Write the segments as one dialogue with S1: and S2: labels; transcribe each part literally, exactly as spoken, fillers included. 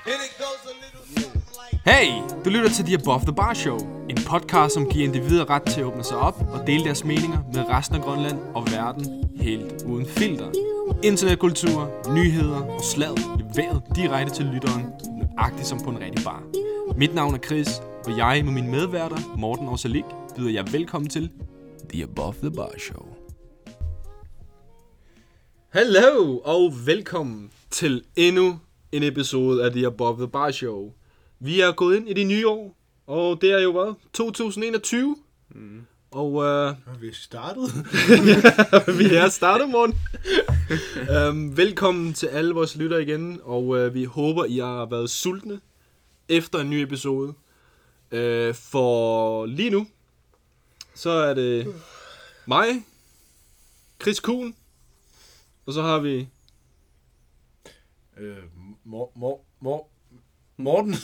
S1: Hey, du lytter til The Above the Bar Show, en podcast, som giver individer ret til at åbne sig op og dele deres meninger med resten af Grønland og verden helt uden filter. Internetkultur, nyheder og slag leveret direkte til lytteren, nøjagtigt som på en rigtig bar. Mit navn er Chris, og jeg med mine medværter, Morten og Salik, byder jer velkommen til The Above the Bar Show. Hallo og velkommen til endnu en episode af The Above the Bar Show. Vi er gået ind i det nye år, og det er jo hvad? to tusind enogtyve. Mm. Og uh,
S2: vi er startet.
S1: vi er startet, morgen. um, velkommen til alle vores lyttere igen, og uh, vi håber, I har været sultne efter en ny episode. Uh, for lige nu, så er det mig, Chris Kuhn, og så har vi...
S2: Øh, mor, mor, mor, Morten.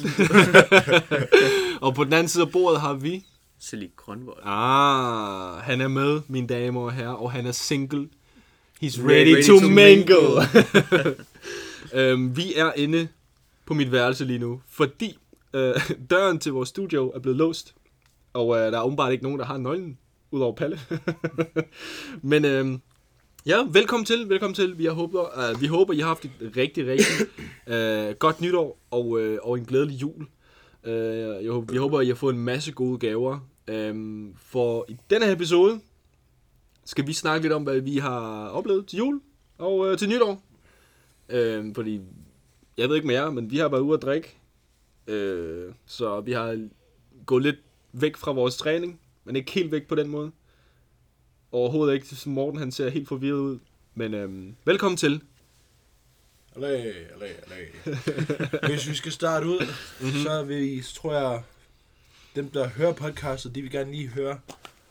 S1: Og på den anden side af bordet har vi...
S3: Selig Grønvold.
S1: Ah, han er med, mine damer og herrer, og han er single. He's ready,
S3: ready
S1: to,
S3: to
S1: mingle. mingle. um, vi er inde på mit værelse lige nu, fordi uh, døren til vores studio er blevet låst. Og uh, der er åbenbart ikke nogen, der har nøglen, udover Palle. Men uh, ja, velkommen til, velkommen til. Vi håber, uh, vi håber, I har haft et rigtig, rigtig uh, godt nytår og, uh, og en glædelig jul. Uh, jeg håber, vi håber, I har fået en masse gode gaver. Um, for i denne her episode skal vi snakke lidt om, hvad vi har oplevet til jul og uh, til nytår. Uh, fordi, jeg ved ikke med jer, men vi har været ude at drikke. Uh, så vi har gået lidt væk fra vores træning, men ikke helt væk på den måde. Overhovedet ikke, som Morten, han ser helt forvirret ud. Men uh, velkommen til.
S2: Allæ, allæ, allæ. Hvis vi skal starte ud, mm-hmm. så, vi, så tror jeg, dem der hører podcastet, de vil gerne lige høre.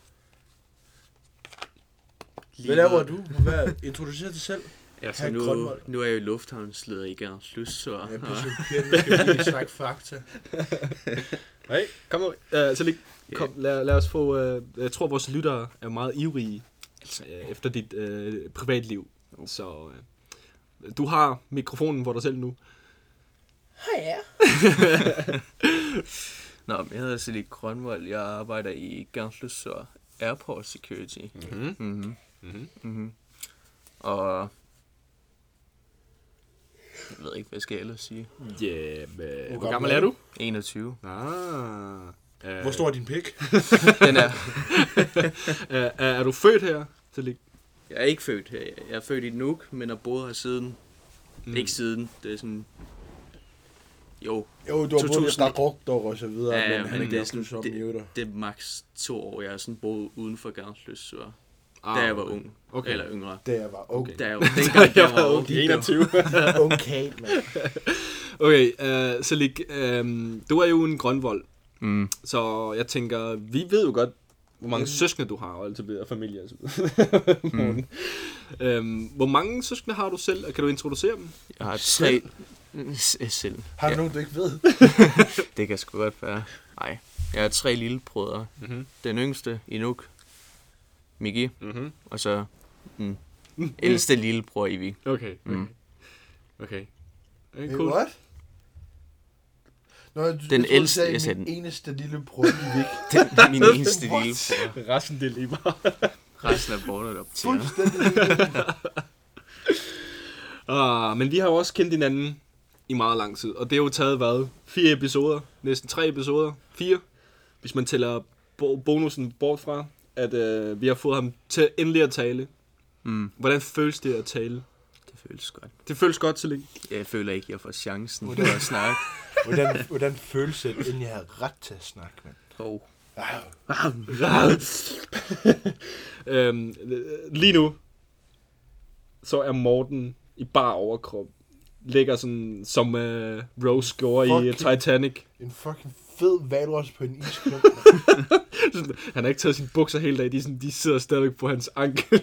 S2: Hvad laver du? Hvad introducerer dig selv?
S3: Ja, så nu, nu er jeg jo lufthavnsleder i Gernslyst, så...
S2: Ja, på Sølpirken skal vi lige snakke fakta.
S1: Hey, kom nu. Uh, så lige, kom, lad, lad os få... Uh, jeg tror, vores lyttere er meget ivrige uh, efter dit uh, privatliv. Så uh, du har mikrofonen for dig selv nu.
S2: Hej, ja.
S3: Nå, men jeg hedder Selig Grønvold. Jeg arbejder i Gernslyst, så Airport Security.
S1: Mm-hmm.
S3: Mm-hmm. Mm-hmm. Mm-hmm. Og... Jeg ved ikke, hvad skal jeg ellers sige?
S1: Ja, yeah, hvor, hvor gammel er du?
S3: enogtyve.
S1: Ah. Uh,
S2: Hvor stor er din pik?
S3: Den er...
S1: er, er, er du født her? Til
S3: Jeg er ikke født her. Jeg er født i Nuuk, men har boet her siden.
S1: Mm.
S3: Ikke siden. Det er sådan... Jo.
S2: Jo, du har
S3: to tusind
S2: boet i Daruk og så videre,
S3: ja, ja,
S2: men han
S3: men
S2: er
S3: det er
S2: sådan,
S3: sådan,
S2: som
S3: det,
S2: det,
S3: det er maks to år. Jeg har sådan boet uden for Gernslyst, så...
S1: Ah,
S3: da jeg var ung.
S1: Okay.
S3: Eller yngre.
S2: Da jeg var ung.
S3: Da jeg var, dengang jeg var ung.
S1: enogtyve.
S2: Okay, mand.
S1: Okay, uh, Selig, um, du er jo en grønvold.
S3: Mm.
S1: Så jeg tænker, vi ved jo godt, hvor mange mm. søskende du har, og alt det familie. Altså. mm. um, hvor mange søskende har du selv, og kan du introducere dem?
S3: Jeg har tre... Selv.
S2: Har du
S3: ja.
S2: nogen, du ikke ved?
S3: Det kan sgu godt være. Nej, jeg har tre lillebrødre. Mm-hmm. Den yngste, Inuk, Miki, mm-hmm. og så mm, ældste lillebror, Ivi.
S1: Okay, okay. Mm. Okay. Okay, cool.
S2: What? Nå, du,
S3: den
S2: du
S3: ældste,
S2: sagde,
S3: jeg sagde
S2: min
S3: den.
S2: eneste lillebror, Ivik.
S3: Den, min eneste lillebror.
S1: Resten det lige bare.
S3: Resten er bordet op til.
S2: Fuldstændig.
S1: Ah, men vi har jo også kendt hinanden i meget lang tid, og det har jo taget, hvad, fire episoder, næsten tre episoder, fire, hvis man tæller bo- bonusen bort fra, at øh, vi har fået ham til endelig at tale.
S3: Mm.
S1: Hvordan føles det at tale?
S3: Det føles godt.
S1: Det føles godt, så længe.
S3: Jeg føler ikke, jeg får chancen for at snakke.
S2: Hvordan, hvordan føles det, inden jeg havde ret til at snakke, mand?
S3: Oh.
S1: øhm, lige nu, så er Morten i bar overkrop. Ligger sådan, som uh, Rose gjorde i uh, Titanic.
S2: En fucking fed valros på en isklump.
S1: Han har ikke taget sine bukser hele dagen. De, sådan, de sidder stadig på hans ankel.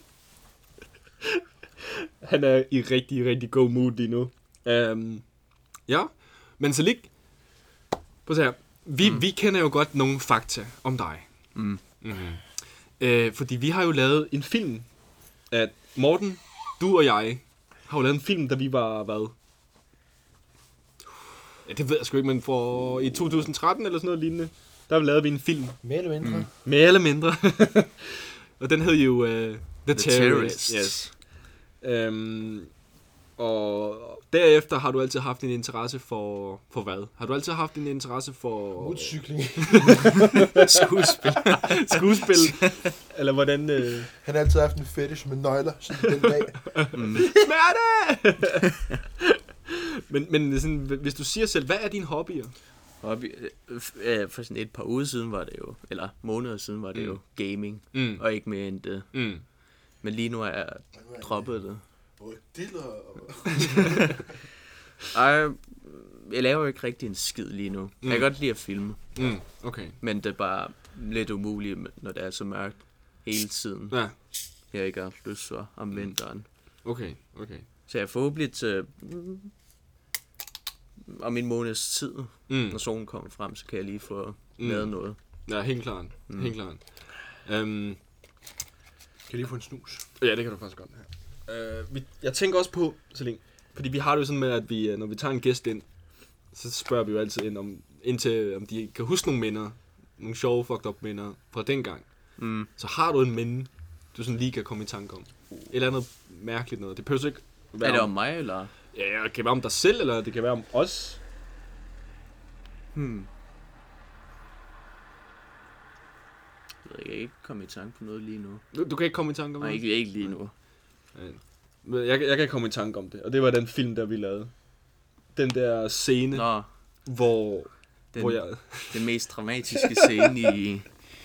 S1: Han er i rigtig, rigtig god mood lige nu. Um, ja, men så lige... Prøv at se her. Vi, mm. vi kender jo godt nogle fakta om dig.
S3: Mm.
S1: Mm-hmm. Uh, fordi vi har jo lavet en film, at Morten, du og jeg, har jo lavet en film, da vi var, hvad? Ja, det ved jeg sgu ikke, men for i to tusind tretten eller sådan noget lignende, der lavede vi en film.
S2: Mere eller mindre. Mm.
S1: Mere eller mindre. Og den hed jo uh, The, The
S3: Terrorists.
S1: Terrorists. Yes. Um, og derefter har du altid haft en interesse for, for hvad? Har du altid haft en interesse for...
S2: Motorcykling.
S3: Skuespil.
S1: Skuespil. Eller hvordan... Uh...
S2: Han har altid haft en fetish med nøgler, sådan den dag.
S3: Mm.
S1: Smerte! men men sådan, hvis du siger selv, hvad er dine hobbyer?
S3: Hobby, øh, for sådan et par uger siden var det jo, eller måneder siden var det mm. jo gaming,
S1: Mm.
S3: og ikke mere end det.
S1: Mm.
S3: Men lige nu er jeg droppet det. Ej, jeg laver jo ikke rigtig en skid lige nu. Mm. Jeg kan godt lide at filme.
S1: Mm. Okay.
S3: Men det er bare lidt umuligt, når det er så mørkt hele tiden.
S1: Ja.
S3: Jeg ikke har lyst til om vinteren.
S1: Okay, okay.
S3: Så jeg er forhåbentlig til mm, om en måneds tid,
S1: Mm.
S3: når solen kommer frem, så kan jeg lige få
S1: Mm.
S3: lavet noget.
S1: Ja, helt klart. Mm. Helt klart. Um,
S2: Kan jeg lige få en snus?
S1: ja, det kan du faktisk godt have. Uh, vi, jeg tænker også på, Celine, fordi vi har det jo sådan med, at vi, når vi tager en gæst ind, så spørger vi jo altid ind, om, indtil, om de kan huske nogle minder, nogle sjove fucked up minder fra dengang.
S3: Mm.
S1: Så har du en minde, du sådan lige kan komme i tanke om. Et eller andet mærkeligt noget. Det behøver ikke være
S3: Er det om mig, eller?
S1: Ja, det kan være om dig selv, eller det kan være om os.
S3: Hmm. Jeg ved ikke, jeg kan ikke komme i tanke på noget lige nu.
S1: Du, du kan ikke komme i tanke om
S3: Nej,
S1: det?
S3: ikke, ikke lige nu.
S1: Men Jeg, jeg kan komme i tanke om det, og det var den film, der vi lavede. Den der scene,
S3: Nå,
S1: hvor,
S3: den,
S1: hvor jeg...
S3: den mest dramatiske scene i...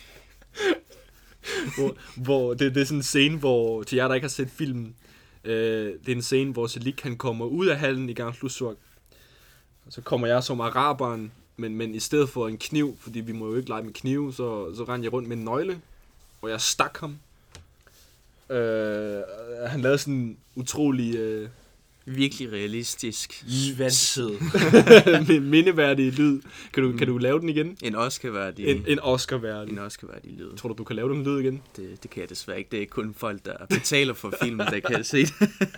S1: hvor, hvor det, det er sådan en scene, hvor, til jer, der ikke har set filmen, øh, det er en scene, hvor Selig han kommer ud af hallen i Gang Slusvåg. Og så kommer jeg som araberen, men, men i stedet for en kniv, fordi vi må jo ikke lege med knive, så, så rendte jeg rundt med en nøgle, og jeg stak ham. Øh, han lavede sådan en utrolig... Øh,
S3: Virkelig realistisk.
S2: Svanset.
S1: mindeværdig lyd. Kan du, mm. kan du lave den igen?
S3: En Oscar-værdig.
S1: En, en Oscar-værdig.
S3: En Oscar-værdig lyd.
S1: Tror du, du kan lave den lyd igen?
S3: Det, det kan jeg desværre ikke. Det er kun folk, der betaler for filmen, der kan se det.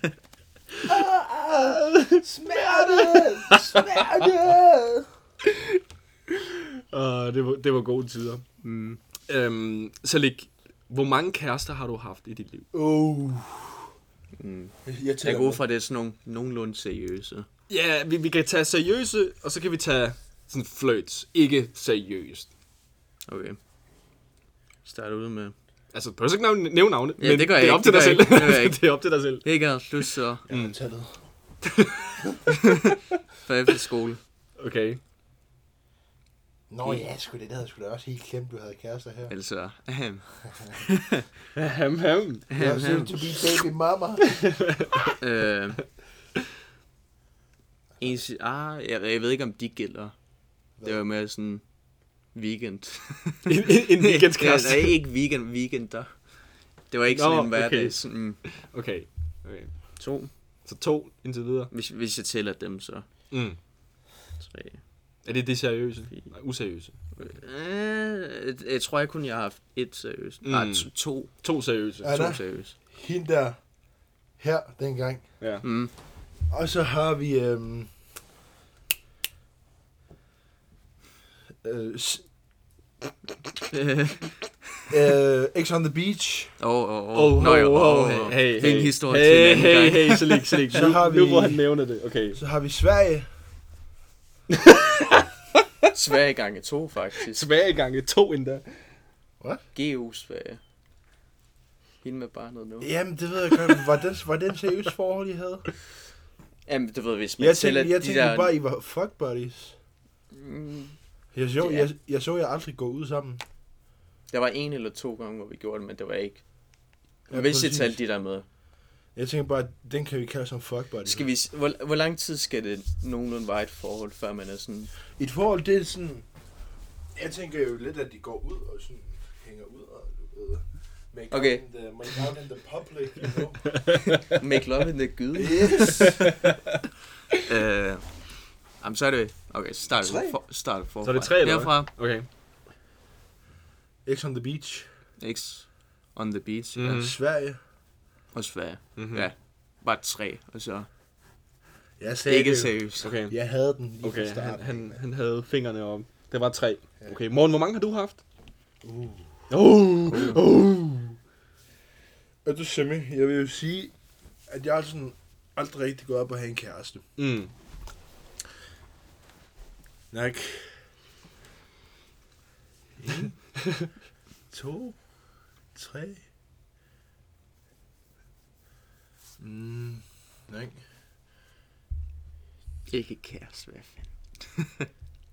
S2: Smerte! Smerte!
S1: Uh, det, var, det var gode tider.
S3: Mm.
S1: Øhm, så Lik, hvor mange kærester har du haft i dit liv?
S2: Oh.
S3: Mm.
S2: Jeg
S3: Jeg
S2: tæller
S3: går
S2: med.
S3: fra, det er sådan nogle nogenlunde seriøse.
S1: Ja, vi, vi kan tage seriøse, og så kan vi tage sådan flirts. Ikke seriøst.
S3: Okay. Start ud med...
S1: Altså, du behøver ikke nævne, nævne navne,
S3: Ja,
S1: men
S3: det gør
S1: det
S3: jeg
S1: er op
S3: ikke,
S1: til dig
S3: det
S1: selv.
S3: gør jeg ikke, det gør jeg ikke.
S1: Det er op til dig selv.
S3: Ikke har lyst så
S2: Jeg har tallet.
S3: for efter skole.
S1: Okay.
S2: Nå ja, sgu det, det havde jeg sgu da også helt glemt, du havde kærester her.
S3: Altså... ahem.
S1: Ham, ham.
S2: Jeg soon to be baby mama.
S3: øh, en, si- ah, jeg, jeg ved ikke, om de gælder. Det var mere sådan... Weekend.
S1: En, en, en weekendskæreste.
S3: Nej, ikke weekend, weekender. Det var ikke
S1: Nå,
S3: sådan en hverdag.
S1: okay.
S3: Sådan, mm,
S1: Okay. Okay.
S3: to.
S1: Så to indtil videre.
S3: Hvis, hvis jeg tæller dem, så
S1: Mm.
S3: tre.
S1: Er det det seriøse? Nej, useriøse.
S3: Øh, jeg tror jeg kun, jeg har haft et seriøst. Mm.
S1: Mm.
S3: Nej, to. To,
S1: To seriøse.
S2: Ja.
S3: to seriøse.
S2: Hende der. Her, dengang.
S1: Ja.
S3: Mm.
S2: Og så har vi... Øhm, øh, s- øh, X on the Beach.
S3: Åh, åh,
S1: Oh,
S3: åh. Nå jo,
S1: oh,
S3: åh,
S1: hey,
S3: åh.
S1: hey,
S3: Det er en
S1: hey.
S3: historie
S1: hey,
S3: til en anden
S1: hey,
S3: gang.
S1: hey, så lig, så lig.
S2: Så
S1: Nu,
S2: har
S1: nu
S2: vi-
S1: hvor han nævner det. Okay.
S2: Så har vi Sverige.
S3: Sverige gange to, faktisk.
S1: Sverige gange to endda.
S3: G U Sverige. Hende med barnet nu.
S2: Jamen, det ved jeg godt. Var det, var det en seriøs forhold, I havde?
S3: Jamen, du ved, hvis man
S2: Jeg
S3: tæller
S2: tænkte, jeg
S3: de
S2: tænkte
S3: der...
S2: bare, I var fuck buddies.
S3: Mm,
S2: Jeg så,
S3: Ja.
S2: jeg, jeg så jer aldrig gå ud sammen.
S3: der var en eller to gange, hvor vi gjorde det, men det var ikke...
S2: Ja,
S3: Hvis jeg
S2: præcis.
S3: talte de der med.
S2: Jeg tænker bare, den kan vi kalde som fuck buddies.
S3: Skal vi... s- Hvor, hvor lang tid skal det nogenlunde være et forhold, før man er sådan...
S2: Et forhold, det er sådan... Jeg tænker jo lidt, at de går ud og sådan hænger ud og du ved... Make,
S3: Okay.
S2: out, in the, make out in the public, you know?
S3: Make love in the gyde.
S2: Yes!
S3: øh, jamen, så er det... Okay, så starter
S2: Tre.
S3: vi for, starter forfra.
S1: Så er det tre, eller hvad?
S3: Herfra.
S1: Okay.
S2: X on the beach.
S3: X on the beach.
S1: Mhm.
S3: Mm. Ja.
S2: Sverige.
S3: Og Sverige.
S1: Mm-hmm.
S3: Ja. Bare tre, og så...
S2: Jeg sagde
S3: Ikke
S2: det.
S3: seriøst.
S1: Okay,
S2: Jeg havde den lige
S1: okay
S2: fra
S1: han,
S2: starten.
S1: han, han havde fingrene om. Det var tre. Okay, Morten, hvor mange har du haft?
S2: Uh.
S1: Oh, oh.
S2: Er du Semi? Jeg vil jo sige, at jeg har sådan aldrig rigtig gået op og have en kæreste.
S1: Mm.
S2: Nok. En, to, tre. Mm, nej.
S3: Ikke kæreste, hvad fanden.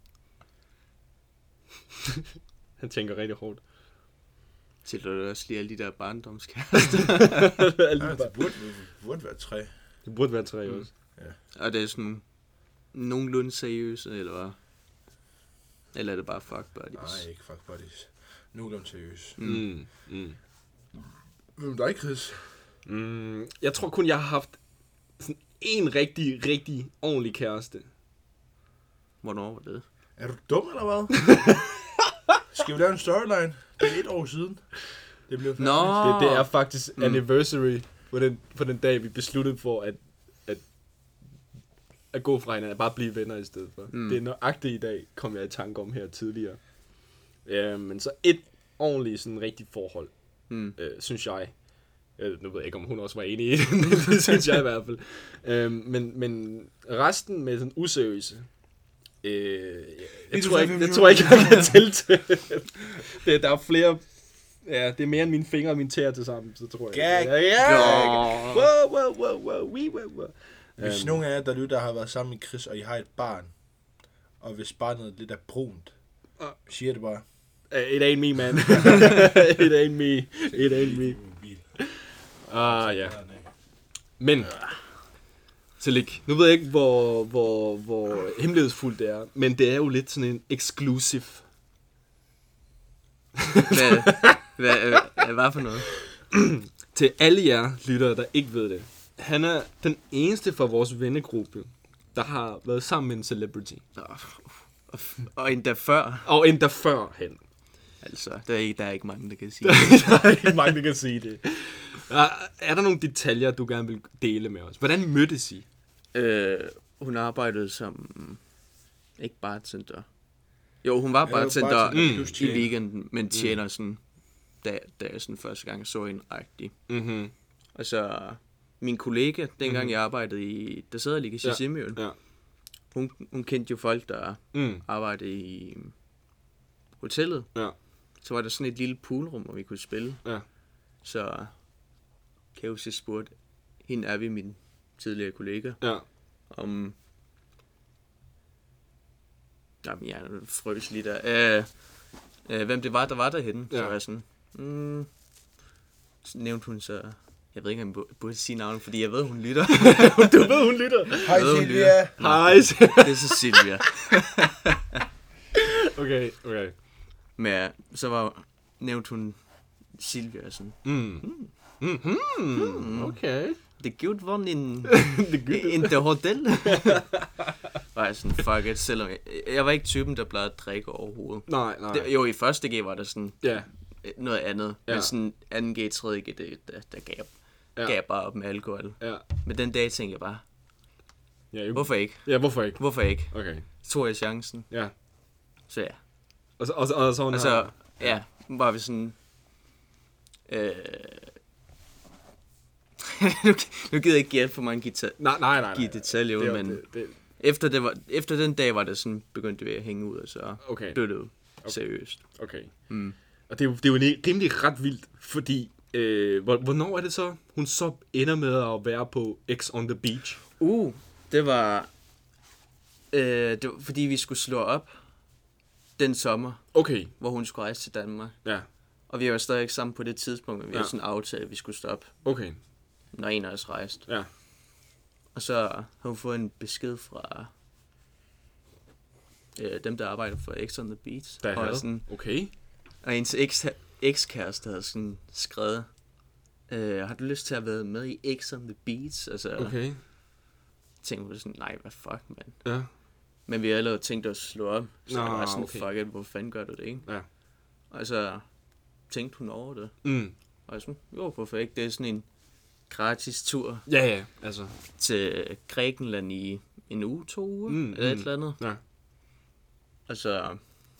S1: Han tænker rigtig hårdt.
S3: Til du også lige alle de der barndomskærester.
S1: Alle
S2: Ja,
S1: de bare-
S2: det burde, burde være tre.
S1: Det burde være tre også.
S3: Og det er sådan nogenlunde seriøse, eller hvad? Eller er det bare fuck buddies?
S2: Nej, ikke fuck buddies. Nu er de seriøs.
S1: Mm. Mm.
S2: Hvem dig, Chris?
S1: Mm. Jeg tror kun, jeg har haft sådan en rigtig, rigtig ordentlig kæreste.
S3: Hvornår var det?
S2: Er du dum, eller hvad? Skal vi lave en storyline? Det er et år siden. Det blev færdigt.
S3: Nå!
S1: Det, det er faktisk
S3: Mm.
S1: anniversary på den, på den dag, vi besluttede for at, at, at gå fra hinanden, at bare blive venner i stedet for.
S3: Mm.
S1: Det er nøjagtigt i dag, kom jeg i tanke om her tidligere. Ja, men så et ordentligt, sådan rigtigt forhold,
S3: Mm.
S1: øh, synes jeg. Øh, nu ved jeg ikke, om hun også var enig i det, men det synes jeg i hvert fald. Øh, men, men resten med sådan useriøse, øh, jeg, jeg, tror ikke, jeg tror ikke, jeg kan tælle til. det, der er flere, ja, det er mere end mine fingre og mine tæer til sammen, så tror jeg.
S2: Gag.
S1: Ja, ja,
S3: Nå.
S1: wow, wow, wow, wow, we, wow, wow.
S2: Hvis
S1: Øhm,
S2: nogen af jer der lytter har været sammen med Chris, og I har et barn, og hvis barnet lidt er brunt,
S1: Ah.
S2: siger det bare.
S1: It ain't me, man. It ain't me. It ain't me. Ah, ja. Men, Celik, nu ved jeg ikke, hvor, hvor, hvor hemmelighedsfuldt det er, men det er jo lidt sådan en exclusive.
S3: Hvad, hvad, hvad, hvad for noget?
S1: Til alle jer lyttere, der ikke ved det. Han er den eneste fra vores vennegruppe, der har været sammen med en celebrity.
S3: Og, og, og endda før.
S1: Og endda før han.
S3: Altså, der er, ikke, der er ikke mange, der kan sige
S1: Der er ikke mange, der kan sige det. Er, er der nogle detaljer, du gerne vil dele med os? Hvordan mødtes I?
S3: øh, hun arbejdede som, ikke bartender. Jo, hun var bartender
S2: bartender
S3: mm,
S2: plus
S3: i
S2: tjener.
S3: weekenden, men tjener sådan, da, da jeg sådan første gang så hende rigtig.
S1: Mhm.
S3: Og så min kollega, dengang mm. jeg arbejdede i, der sidder lige i
S1: Ja.
S3: Simøen,
S1: Ja.
S3: hun, hun kendte jo folk, der
S1: Mm.
S3: arbejdede i hotellet.
S1: Ja.
S3: Så var der sådan et lille poolrum, hvor vi kunne spille.
S1: Ja.
S3: Så kan jeg huske, jeg spurgte hende, er vi min tidligere kollega,
S1: Ja.
S3: om... Jamen, jeg frøs lige der. Øh, øh, hvem det var, der var derhenne. Ja. Så
S1: Ja.
S3: var jeg sådan... Mm, så nævnte hun så... Jeg ved ikke, om jeg bu- burde sige navnet, fordi jeg ved, hun lytter.
S1: Du ved, hun lytter.
S2: Hej
S3: Ved hun
S2: Silvia.
S1: Hej.
S3: Det er så Silvia.
S1: Okay, okay.
S3: Men ja, så var nævnte hun Silvia sådan...
S1: Mm. Mm-hmm. Okay.
S3: Det er godt vundet in,
S1: Det er godt.
S3: in the hotel. Var jeg sådan, fuck it, selvom jeg, jeg var ikke typen, der plejede at drikke overhovedet.
S1: Nej, nej.
S3: Det, jo, i første G var der sådan
S1: Ja.
S3: noget andet,
S1: Ja.
S3: men sådan anden G, tredje G, det, der, der gav,
S1: Ja.
S3: gav bare op med alkohol.
S1: Ja.
S3: Men den dag tænkte jeg bare,
S1: Ja, jo.
S3: hvorfor ikke?
S1: Ja, hvorfor ikke?
S3: Hvorfor ikke?
S1: Okay.
S3: Så tog jeg chancen,
S1: Ja.
S3: så ja.
S1: Og så, og så, og så,
S3: Og så, ja, var vi sådan... Øh, nu, nu gider jeg ikke give alt for mange gita-
S1: Nej, nej, nej.
S3: give
S1: nej.
S3: detaljer ud,
S1: Det er-
S3: men
S1: det, det,
S3: efter, det var, efter den dag var det sådan, begyndte vi at hænge ud, og så
S1: okay,
S3: blev det jo seriøst.
S1: okay.
S3: Mm.
S1: Og det er jo, det er jo en- rimelig ret vildt, fordi... Øh, hvor- hvornår er det så, hun så ender med at være på X on the Beach?
S3: Uh, det var, øh, det var, fordi vi skulle slå op den sommer,
S1: Okay,
S3: hvor hun skulle rejse til Danmark.
S1: ja.
S3: Og vi var stadig ikke sammen på det tidspunkt, men vi
S1: Ja.
S3: havde sådan en aftale, at vi skulle stoppe,
S1: Okay,
S3: når en af os rejste.
S1: ja.
S3: Og så har hun fået en besked fra øh, dem, der arbejder for X on the Beach.
S1: Der
S3: og,
S1: er
S3: sådan,
S1: Okay.
S3: og hendes eks- ekskæreste havde sådan skrevet, øh, har du lyst til at være med i X on the Beach? Altså,
S1: Okay.
S3: tænkte vi sådan, nej, hvad fuck, mand.
S1: Ja.
S3: Men vi havde allerede tænkt os at slå op, så
S1: Nå,
S3: jeg var sådan,
S1: okay.
S3: fuck it, hvor fanden gør du det, ikke?
S1: Ja.
S3: Og så tænkte hun over det,
S1: Mm.
S3: og jeg sådan, jo, hvorfor ikke? Det er sådan en gratis tur
S1: Ja, ja, altså.
S3: til Grækenland i en uge, to uger,
S1: Mm,
S3: mm, eller et
S1: mm.
S3: eller andet.
S1: Ja.
S3: Altså,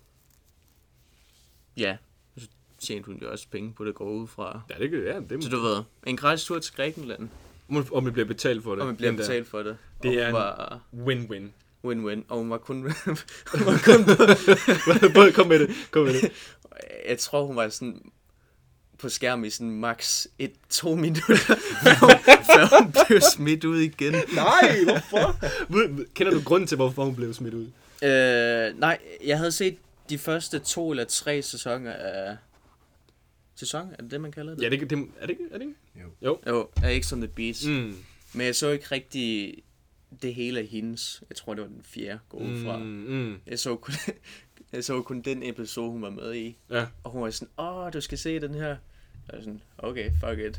S3: ja, så tjente hun jo også penge på det, går ud fra.
S1: Ja, det kan ja, det
S3: Så du ved, en gratis tur til Grækenland,
S1: Og man bliver betalt for det.
S3: og man bliver
S1: Den der.
S3: betalt for det.
S1: Det
S3: og
S1: er
S3: hun
S1: en-
S3: var
S1: Win-win.
S3: win-win, og hun var kun, hun var kun
S1: Bare kom med det, kom med det.
S3: jeg tror, hun var sådan på skærmen i sådan max et, to minutter, før hun, før hun blev smidt ud igen.
S1: Nej, hvorfor? Ved- Kender du grunden til, hvorfor hun blev smidt ud?
S3: Øh, nej, jeg havde set de første to eller tre sæsoner af... Sæson? Er det det, man kalder det?
S1: Ja, det, det er det ikke? Er det ikke?
S2: Jo.
S3: Jo, af X on the Beach. Mm.
S1: Mm.
S3: Men jeg så ikke rigtig det hele af hendes. Jeg tror, det var den fjerde gå ud fra.
S1: Mm, mm.
S3: Jeg så kun, jeg så kun den episode, hun var med i.
S1: Ja.
S3: Og hun var sådan, åh, du skal se den her. Jeg var sådan, okay, fuck it.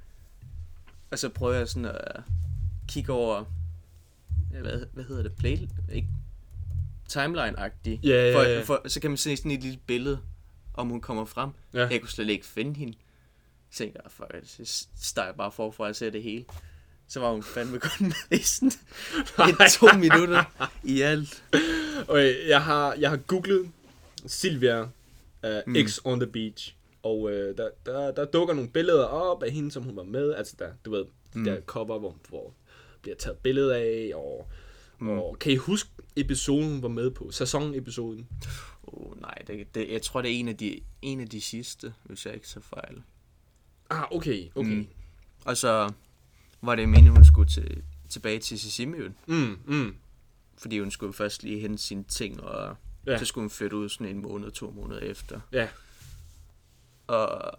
S3: Og så prøver jeg sådan at kigge over, hvad, hvad hedder det, play, ikke? Timeline-agtig.
S1: Ja, ja,
S3: for,
S1: ja.
S3: For, så kan man se sådan et lille billede, om hun kommer frem.
S1: Ja.
S3: Jeg kunne slet ikke finde hende. Så tænkte jeg, fuck it, så starter jeg bare forfra at se det hele. Så var hun fandme kun med i sådan et, to minutter i alt.
S1: Okay, jeg har, jeg har googlet Silvia uh,
S3: Mm.
S1: X on the Beach. Og uh, der, der, der dukker nogle billeder op af hende, som hun var med. Altså der, du ved, de
S3: Mm.
S1: der cover, hvor, hvor bliver taget billeder af. Og,
S3: Mm.
S1: og kan I huske episoden, hun var med på? Sæsonepisoden?
S3: Oh, nej, det, det, jeg tror, det er en af, de, en af de sidste, hvis jeg ikke så fejl.
S1: Ah, okay, okay.
S3: Mm. Og så var det meningen, hun skulle til, tilbage til Sisimiøen.
S1: Mm, mm.
S3: Fordi hun skulle først lige hente sine ting, og
S1: Ja.
S3: ja. så skulle hun flytte ud sådan en måned, to måneder efter.
S1: Ja.
S3: Og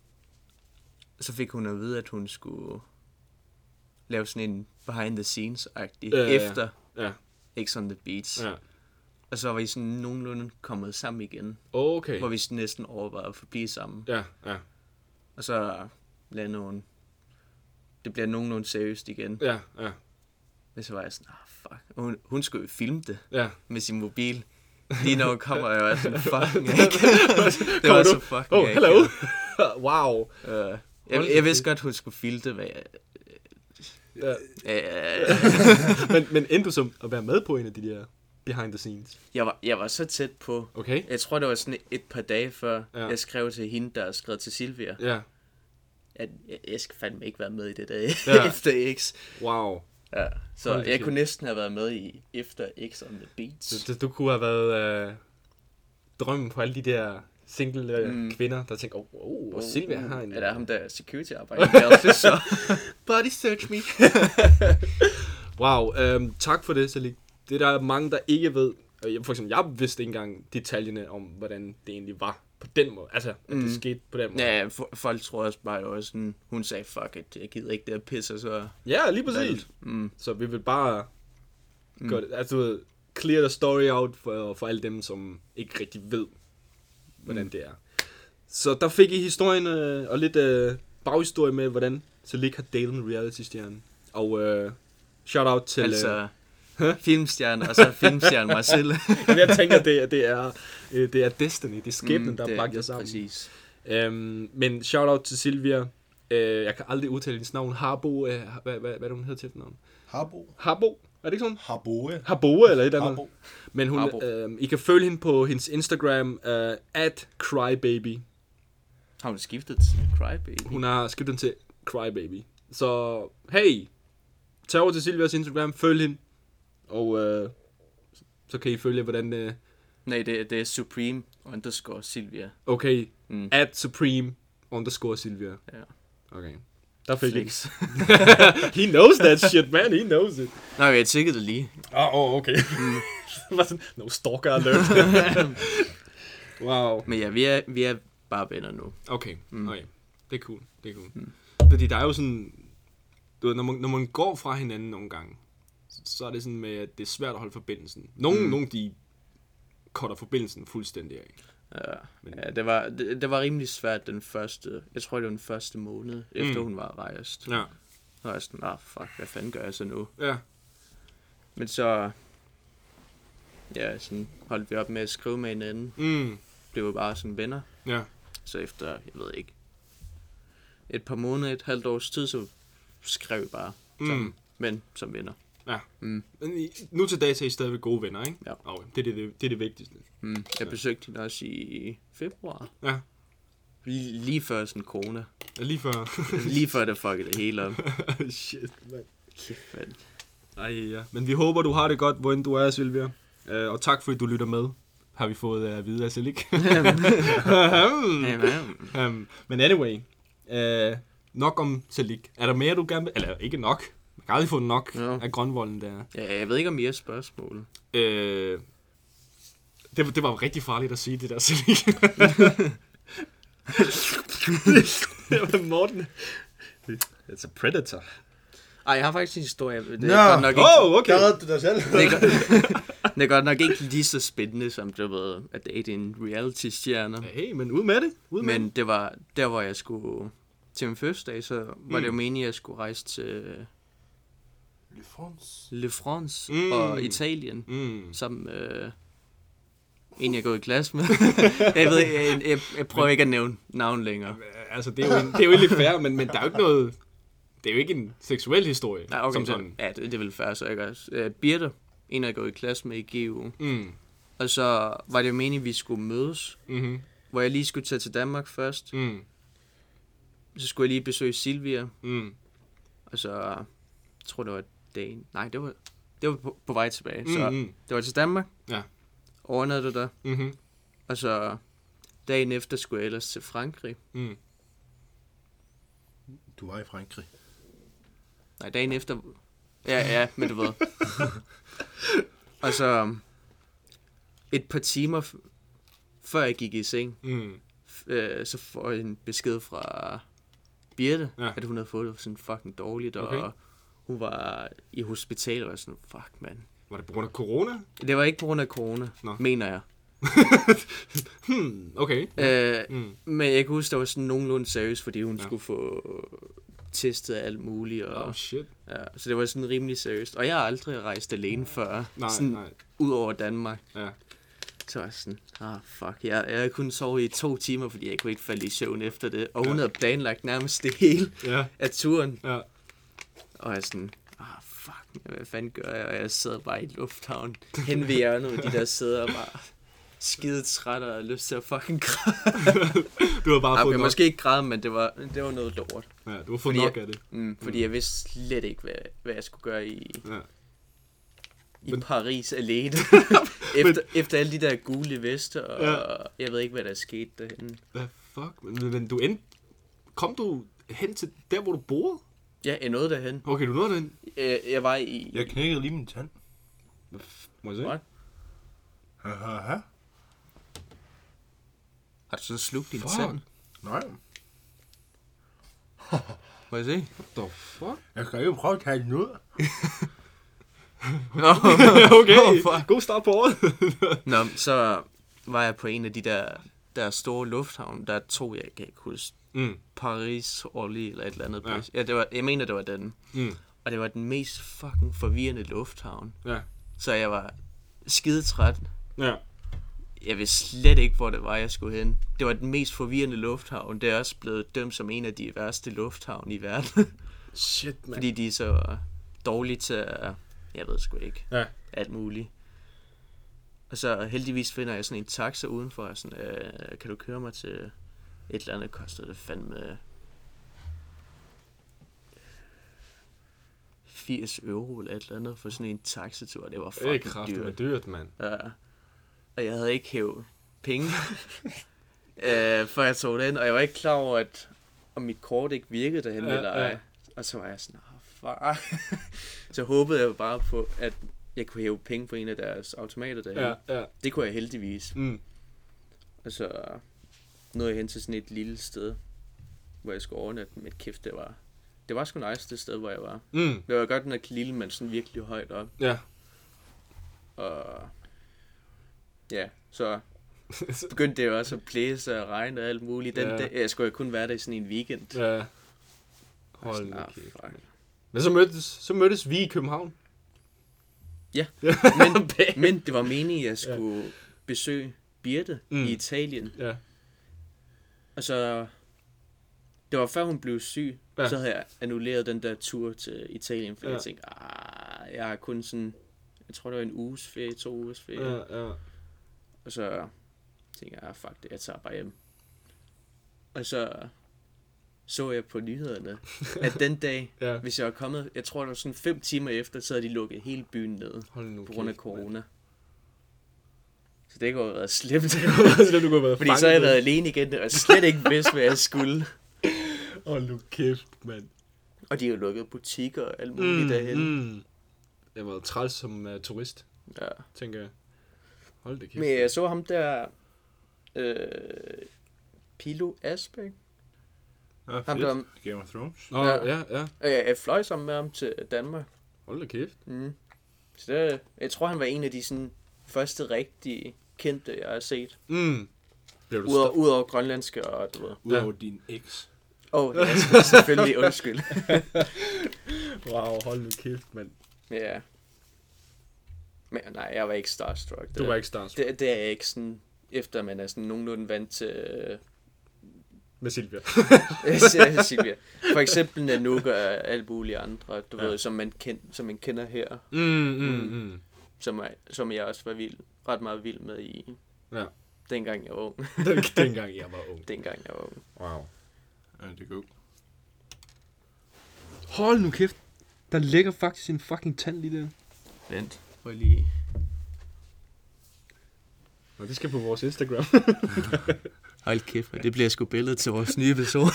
S3: så fik hun at vide, at hun skulle lave sådan en behind the scenes-agtig
S1: Ja, ja, ja.
S3: efter
S1: Ja.
S3: X on the Beach.
S1: Ja.
S3: Og så var vi sådan nogenlunde kommet sammen igen,
S1: Okay.
S3: hvor vi sådan næsten overvejede at forblive sammen.
S1: Ja, ja.
S3: Og så landede hun. Det bliver nogenlunde seriøst igen.
S1: Ja, ja.
S3: Men så var jeg sådan, ah fuck. Og hun, hun skulle jo filme det
S1: Ja.
S3: med sin mobil. Lige når hun kommer, jeg var sådan, fucking ikke. Det
S1: Kommer
S3: var
S1: du?
S3: så fucking
S1: Oh,
S3: ikke.
S1: hello. Wow.
S3: Uh, jeg, jeg vidste godt, hun skulle filme det, men jeg,
S1: Ja.
S3: uh,
S1: men, men endte du som at være med på en af de der behind the scenes?
S3: jeg, var, jeg var så tæt på.
S1: Okay.
S3: Jeg tror, det var sådan et par dage før,
S1: Ja.
S3: ja. jeg skrev til hende, der skrev til Silvia,
S1: Ja.
S3: at jeg, jeg skal fandme ikke være med i det der
S1: Ja.
S3: efter X.
S1: Wow.
S3: Ja, så
S1: Hold da
S3: jeg
S1: shit.
S3: kunne næsten have været med i efter X on the Beach.
S1: Så, så du kunne have været øh, drømmen på alle de der single øh, mm.
S3: Mm.
S1: kvinder, der tænker, oh, oh, oh Silvia har en...
S3: Er der ham der security arbejder? så
S1: Body search me. Wow, øhm, tak for det, Salik. Det er der mange, der ikke ved. Og jeg- For eksempel, jeg vidste ikke engang detaljerne om, hvordan det egentlig var på den måde. Altså, at det
S3: Mm.
S1: skete på den måde.
S3: Ja, for, folk tror også bare jo også sådan, hun sagde, fuck it, jeg gider ikke det her pisse, og så...
S1: Ja, lige præcis.
S3: Mm,
S1: Så vi vil bare
S3: Mm.
S1: gøre det, altså du ved, clear the story out for, for alle dem, som ikke rigtig ved, hvordan
S3: Mm.
S1: det er. Så der fik I historien øh, og lidt øh, baghistorie med, hvordan Salik har datet en reality-stjerne. Og øh, shout out til...
S3: altså, filmstjerne, og så filmstjerne mig selv.
S1: Øh, jeg tænker, det, er- det, er, øh, det er destiny, det er skæbnen, mm, der
S3: det-
S1: har bragt jer sammen.
S3: Præcis.
S1: Øhm, men shout out til Silvia. Øh, jeg kan aldrig udtale hendes navn. Harbo, øh, hvad, hvad, hvad er det, hun hedder til navn?
S2: Harbo.
S1: Harbo? Er det ikke sådan?
S2: Harboe.
S1: Harboe eller et eller andet?
S2: Harbo.
S1: Men hun,
S3: Harbo.
S1: øh, I kan følge hende på hendes Instagram, øh, at crybaby.
S3: Har hun skiftet til Crybaby?
S1: Hun har skiftet den til crybaby. Så hey, tag over til Silvias Instagram, følg hende. Og øh, så kan I følge, hvordan... Øh,
S3: Nej, det, det er Supreme underscore Silvia.
S1: okay,
S3: Mm.
S1: at supreme underscore Silvia.
S3: Ja.
S1: Okay. Der fik jeg.
S3: Flex.
S1: He knows that shit, man. He knows it.
S3: Nej, jeg tjekkede det lige.
S1: Ah, oh, okay. Var sådan, no stalker alert. Wow.
S3: Men ja, vi er, vi er bare venner nu.
S1: Okay,
S3: Mm.
S1: okay. Det er cool. Det er cool.
S3: Mm.
S1: Fordi der er jo sådan... Du ved, når man, når man går fra hinanden nogle gange, så, så er det sådan med, at det er svært at holde forbindelsen. Nogle, mm.
S3: Mm.
S1: nogle de cutter forbindelsen fuldstændig af.
S3: Ja,
S1: Men-
S3: ja det, var, det, det var rimelig svært den første, jeg tror det var den første måned, efter
S1: Mm.
S3: hun var rejst.
S1: Ja.
S3: Så var jeg sådan, ah fuck, hvad fanden gør jeg så nu?
S1: Ja.
S3: Men så, ja, sådan holdt vi op med at skrive med hinanden.
S1: Mm.
S3: Blev jo bare sådan venner.
S1: Ja.
S3: Så efter, jeg ved ikke, et par måneder, et halvt års tid, så skrev vi bare
S1: Mm.
S3: sammen, men som venner.
S1: Ja.
S3: Mm.
S1: Men I, nu til dags er I stadigvæk gode venner, ikke?
S3: Ja.
S1: Okay. Det, er det, det er det vigtigste.
S3: Mm. Jeg besøgte hende også i februar.
S1: Ja.
S3: Lige, lige før sådan corona.
S1: Ja, lige før.
S3: Lige før det fuckede det hele op.
S1: Shit, mand.
S3: Kæft, mand.
S1: Ej, ja. Men vi håber, du har det godt, hvor end du er, Sylvia. Uh, og tak, fordi du lytter med. Har vi fået at vide af Selik. um, men anyway. Uh, nok om Selik. Er der mere, du gerne vil? Eller ikke nok. Man kan aldrig få nok
S3: Ja.
S1: af grønvolden der.
S3: Ja, jeg ved ikke om I har spørgsmål.
S1: Uh, det, det var rigtig farligt at sige det der, Selik. Det var Morten. It's a predator.
S3: Ej, jeg har faktisk en historie. Det er
S2: Nå.
S3: godt nok ikke,
S1: Oh, okay.
S2: Der redde du dig selv.
S3: det er, godt, det er godt nok ikke lige så spændende, som det ved, at date en reality-stjerne.
S1: Hey, men ud med det. Ud med
S3: Men
S1: det.
S3: det var der, hvor jeg skulle til min fødselsdag, så var
S1: Mm.
S3: det jo meningen, at jeg skulle rejse til
S2: Le France.
S3: Le France
S1: Mm.
S3: og Italien,
S1: Mm.
S3: sammen med en, jeg går i klasse med. jeg ved jeg, jeg, jeg prøver ikke at nævne navn længere.
S1: Altså, det er jo, en, det er jo lidt fair, men, men der er jo ikke noget... Det er jo ikke en seksuel historie,
S3: Ja, okay,
S1: som
S3: så,
S1: sådan.
S3: ja, det, det er vel fair, så jeg også. Uh, Birte, en, jeg går i klasse med i G U.
S1: Mm.
S3: Og så var det jo meningen, at vi skulle mødes,
S1: Mm-hmm.
S3: hvor jeg lige skulle tage til Danmark først.
S1: Mm.
S3: Så skulle jeg lige besøge Silvia,
S1: Mm.
S3: og så jeg tror det var dagen. Nej, det var, det var på, på vej tilbage. Så
S1: Mm-hmm.
S3: det var til Danmark.
S1: Ja.
S3: Overnattede der.
S1: Mm-hmm.
S3: Og så dagen efter skulle jeg ellers til Frankrig.
S1: Mm.
S2: Du var i Frankrig.
S3: Nej, dagen efter... Ja, ja, men du ved. Og så et par timer f- før jeg gik i seng,
S1: Mm.
S3: øh, så får jeg en besked fra Birte,
S1: Ja.
S3: at hun havde fået det sådan fucking dårligt,
S1: Okay.
S3: og hun var i hospitalet og sådan, fuck mand.
S1: Var det på grund af corona?
S3: Det var ikke på grund af corona,
S1: Nå.
S3: mener jeg.
S1: Hmm, okay.
S3: Øh,
S1: Mm.
S3: men jeg kan huske, det var sådan nogenlunde seriøst, fordi hun
S1: Ja.
S3: ja. skulle få testet alt muligt. Og,
S1: Oh, shit.
S3: ja, så det var sådan rimelig seriøst. Og jeg har aldrig rejst alene før,
S1: Nej,
S3: sådan
S1: nej.
S3: ud over Danmark.
S1: Ja.
S3: Så var jeg sådan, ah fuck, jeg, jeg kunne sove i to timer, fordi jeg kunne ikke falde i søvn efter det. Og hun
S1: Ja.
S3: havde planlagt nærmest det hele
S1: Ja.
S3: af turen.
S1: Ja.
S3: Og jeg er sådan, ah fuck, hvad fanden gør jeg? Og jeg sad bare i lufthavnen, hen ved hjørnet med de der sæder og bare skide træt og lyst til at fucking græde.
S1: Du har bare
S3: Okay,
S1: fået nok.
S3: måske ikke græde, men det var, det var noget lort.
S1: Ja, du har fået
S3: Fordi
S1: nok
S3: jeg-
S1: af det.
S3: Mm, fordi mm. jeg vidste slet ikke, hvad, hvad jeg skulle gøre i,
S1: Ja.
S3: i
S1: Men-
S3: Paris alene. efter, efter alle de der gule veste, og
S1: Ja.
S3: jeg ved ikke, hvad der skete derhenne.
S1: Hvad fuck? Men, men du endte... Kom du hen til der, hvor du boede?
S3: Ja, jeg nåede derhen.
S1: Okay, du nåede den.
S3: Jeg, jeg var i...
S2: Jeg knækkede lige min tand.
S1: Må jeg se?
S3: What?
S2: Haha.
S3: Har du så slugt din
S1: Fuck.
S3: tand?
S2: Nej.
S3: Må jeg se?
S1: What the fuck?
S2: Jeg skal jo prøve at tage den ud.
S1: Okay,
S3: Oh, fuck.
S1: god start på året.
S3: Nå, så var jeg på en af de der, der store lufthavne. Der er to, jeg kan ikke huske.
S1: Mm.
S3: Paris, Orly eller et eller andet.
S1: Ja.
S3: Ja, ja det var, jeg mener, det var den.
S1: Mm.
S3: Og det var den mest fucking forvirrende lufthavn.
S1: Ja.
S3: Så jeg var skidetræt.
S1: Ja.
S3: Jeg vidste slet ikke, hvor det var, jeg skulle hen. Det var den mest forvirrende lufthavn. Det er også blevet dømt som en af de værste lufthavne i verden.
S1: Shit, man.
S3: Fordi de er så dårlige til at... Jeg ved sgu ikke.
S1: Ja.
S3: Alt muligt. Og så heldigvis finder jeg sådan en taxa udenfor. Og sådan, øh, kan du køre mig til et eller andet? Koster det fandme... firs euro eller et eller andet for sådan en taxatur. Det var
S1: Det er
S3: fucking
S1: kraftigt
S3: dyrt.
S1: med dyrt, mand.
S3: Ja. Og jeg havde ikke hævet penge, øh, før jeg tog den, og jeg var ikke klar over, at om mit kort ikke virkede derhen
S1: Ja,
S3: eller ej.
S1: ja.
S3: Og så var jeg sådan, oh, fuck. Så håbede jeg bare på, at jeg kunne hæve penge på en af deres automater derhen.
S1: Ja, ja.
S3: Det kunne jeg heldigvis.
S1: Mm.
S3: Og så nåede jeg hen til sådan et lille sted, hvor jeg skulle overnatte med kæft. Det var, det var sgu nice, det sted, hvor jeg var.
S1: Mm.
S3: Det var godt nok lille, men sådan virkelig højt op.
S1: Ja.
S3: Og ja, så begyndte det jo også at blæse og regne og alt muligt. Den,
S1: Ja.
S3: ja. Jeg skulle jo kun være der i sådan en weekend.
S1: Ja. Hold
S3: Sådan,
S1: nu
S3: ah,
S1: kæft.
S3: fuck.
S1: Men så mødtes, så mødtes vi i København.
S3: Ja, men, men det var meningen, at jeg skulle ja. besøge Birte
S1: Mm.
S3: mm. i Italien.
S1: Ja.
S3: Og så Det var før hun blev syg,
S1: Ja.
S3: ja. Så havde jeg annulleret den der tur til Italien, for
S1: Ja.
S3: ja. jeg tænkte, ah, jeg har kun sådan, jeg tror det var en uges ferie, to ugers ferie.
S1: Ja, ja.
S3: Og så tænkte jeg, ah, fuck det, jeg tager bare hjem. Og så så jeg på nyhederne, at den dag,
S1: Ja.
S3: hvis jeg var kommet, jeg tror det var sådan fem timer efter, så havde de lukket hele byen ned,
S1: Hold nu
S3: på grund af
S1: kæft,
S3: corona. Så det kunne have været slemt.
S1: mand. Du kunne have været
S3: Fordi så havde jeg været alene igen, og slet ikke vidst, hvad jeg skulle.
S1: Hold nu kæft, mand.
S3: Og de har jo lukket butikker og alt muligt mm, derhen.
S1: Mm. Jeg var træls som uh, turist,
S3: Ja.
S1: tænker jeg. Hold det kæft.
S3: Men jeg så ham der, øh, Pilo Asbæk.
S2: Ja,
S3: Ham
S2: fedt.
S3: der,
S2: Game of Thrones.
S1: Nå,
S3: Ja.
S1: ja, ja.
S3: øh, jeg fløj sammen med ham til Danmark.
S1: Hold da kæft.
S3: Mm. Så det, jeg tror, han var en af de sådan, første rigtig kendte, jeg har set.
S1: Mm. Blev du
S3: Udover,
S1: sta-
S3: udover grønlandske og du ved.
S2: Udover din eks.
S3: Åh, oh, ja, selvfølgelig, undskyld.
S1: Wow, hold nu kæft, mand.
S3: Ja. Men nej, jeg var ikke starstruck. Det,
S1: Du var ikke starstruck
S3: det, det er jeg ikke sådan, efter man er sådan nogenlunde vant til øh,
S1: med Silvia.
S3: Ja, Silvia. For eksempel Nanook og alle mulige andre, du
S1: Ja.
S3: ja. ved, som man, kend, som man kender her,
S1: Mm, mm, mm.
S3: som, er, som jeg også var vild, ret meget vild med i,
S1: Ja.
S3: dengang jeg var ung.
S1: Den, dengang jeg var ung.
S3: dengang jeg var ung.
S1: Wow.
S2: Ja, det er godt.
S1: Hold nu kæft. Der ligger faktisk en fucking tand lige der.
S3: Vent, prøv lige.
S1: Og det skal på vores Instagram.
S3: Hold kæft, det bliver sgu billedet til vores nye episode.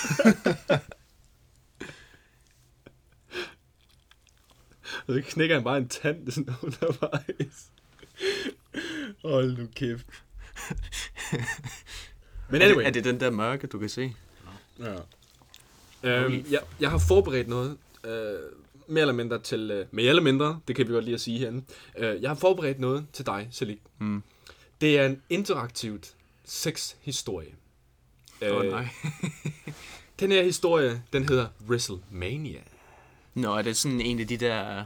S1: Og så knækker han bare en tand sådan undervejs. Hold nu kæft. Men
S3: er,
S1: anyway.
S3: det, er det den der mørke, du kan se?
S1: Ja. Øhm, jeg, jeg har forberedt noget, øh, mere eller mindre til, øh, mere eller mindre, det kan vi godt lige at sige herinde. Øh, jeg har forberedt noget til dig, Salik.
S3: Mm.
S1: Det er en interaktivt sexhistorie.
S3: Åh oh,
S1: Øh,
S3: nej.
S1: Den her historie, den hedder WrestleMania.
S3: Nå, er det sådan en af de der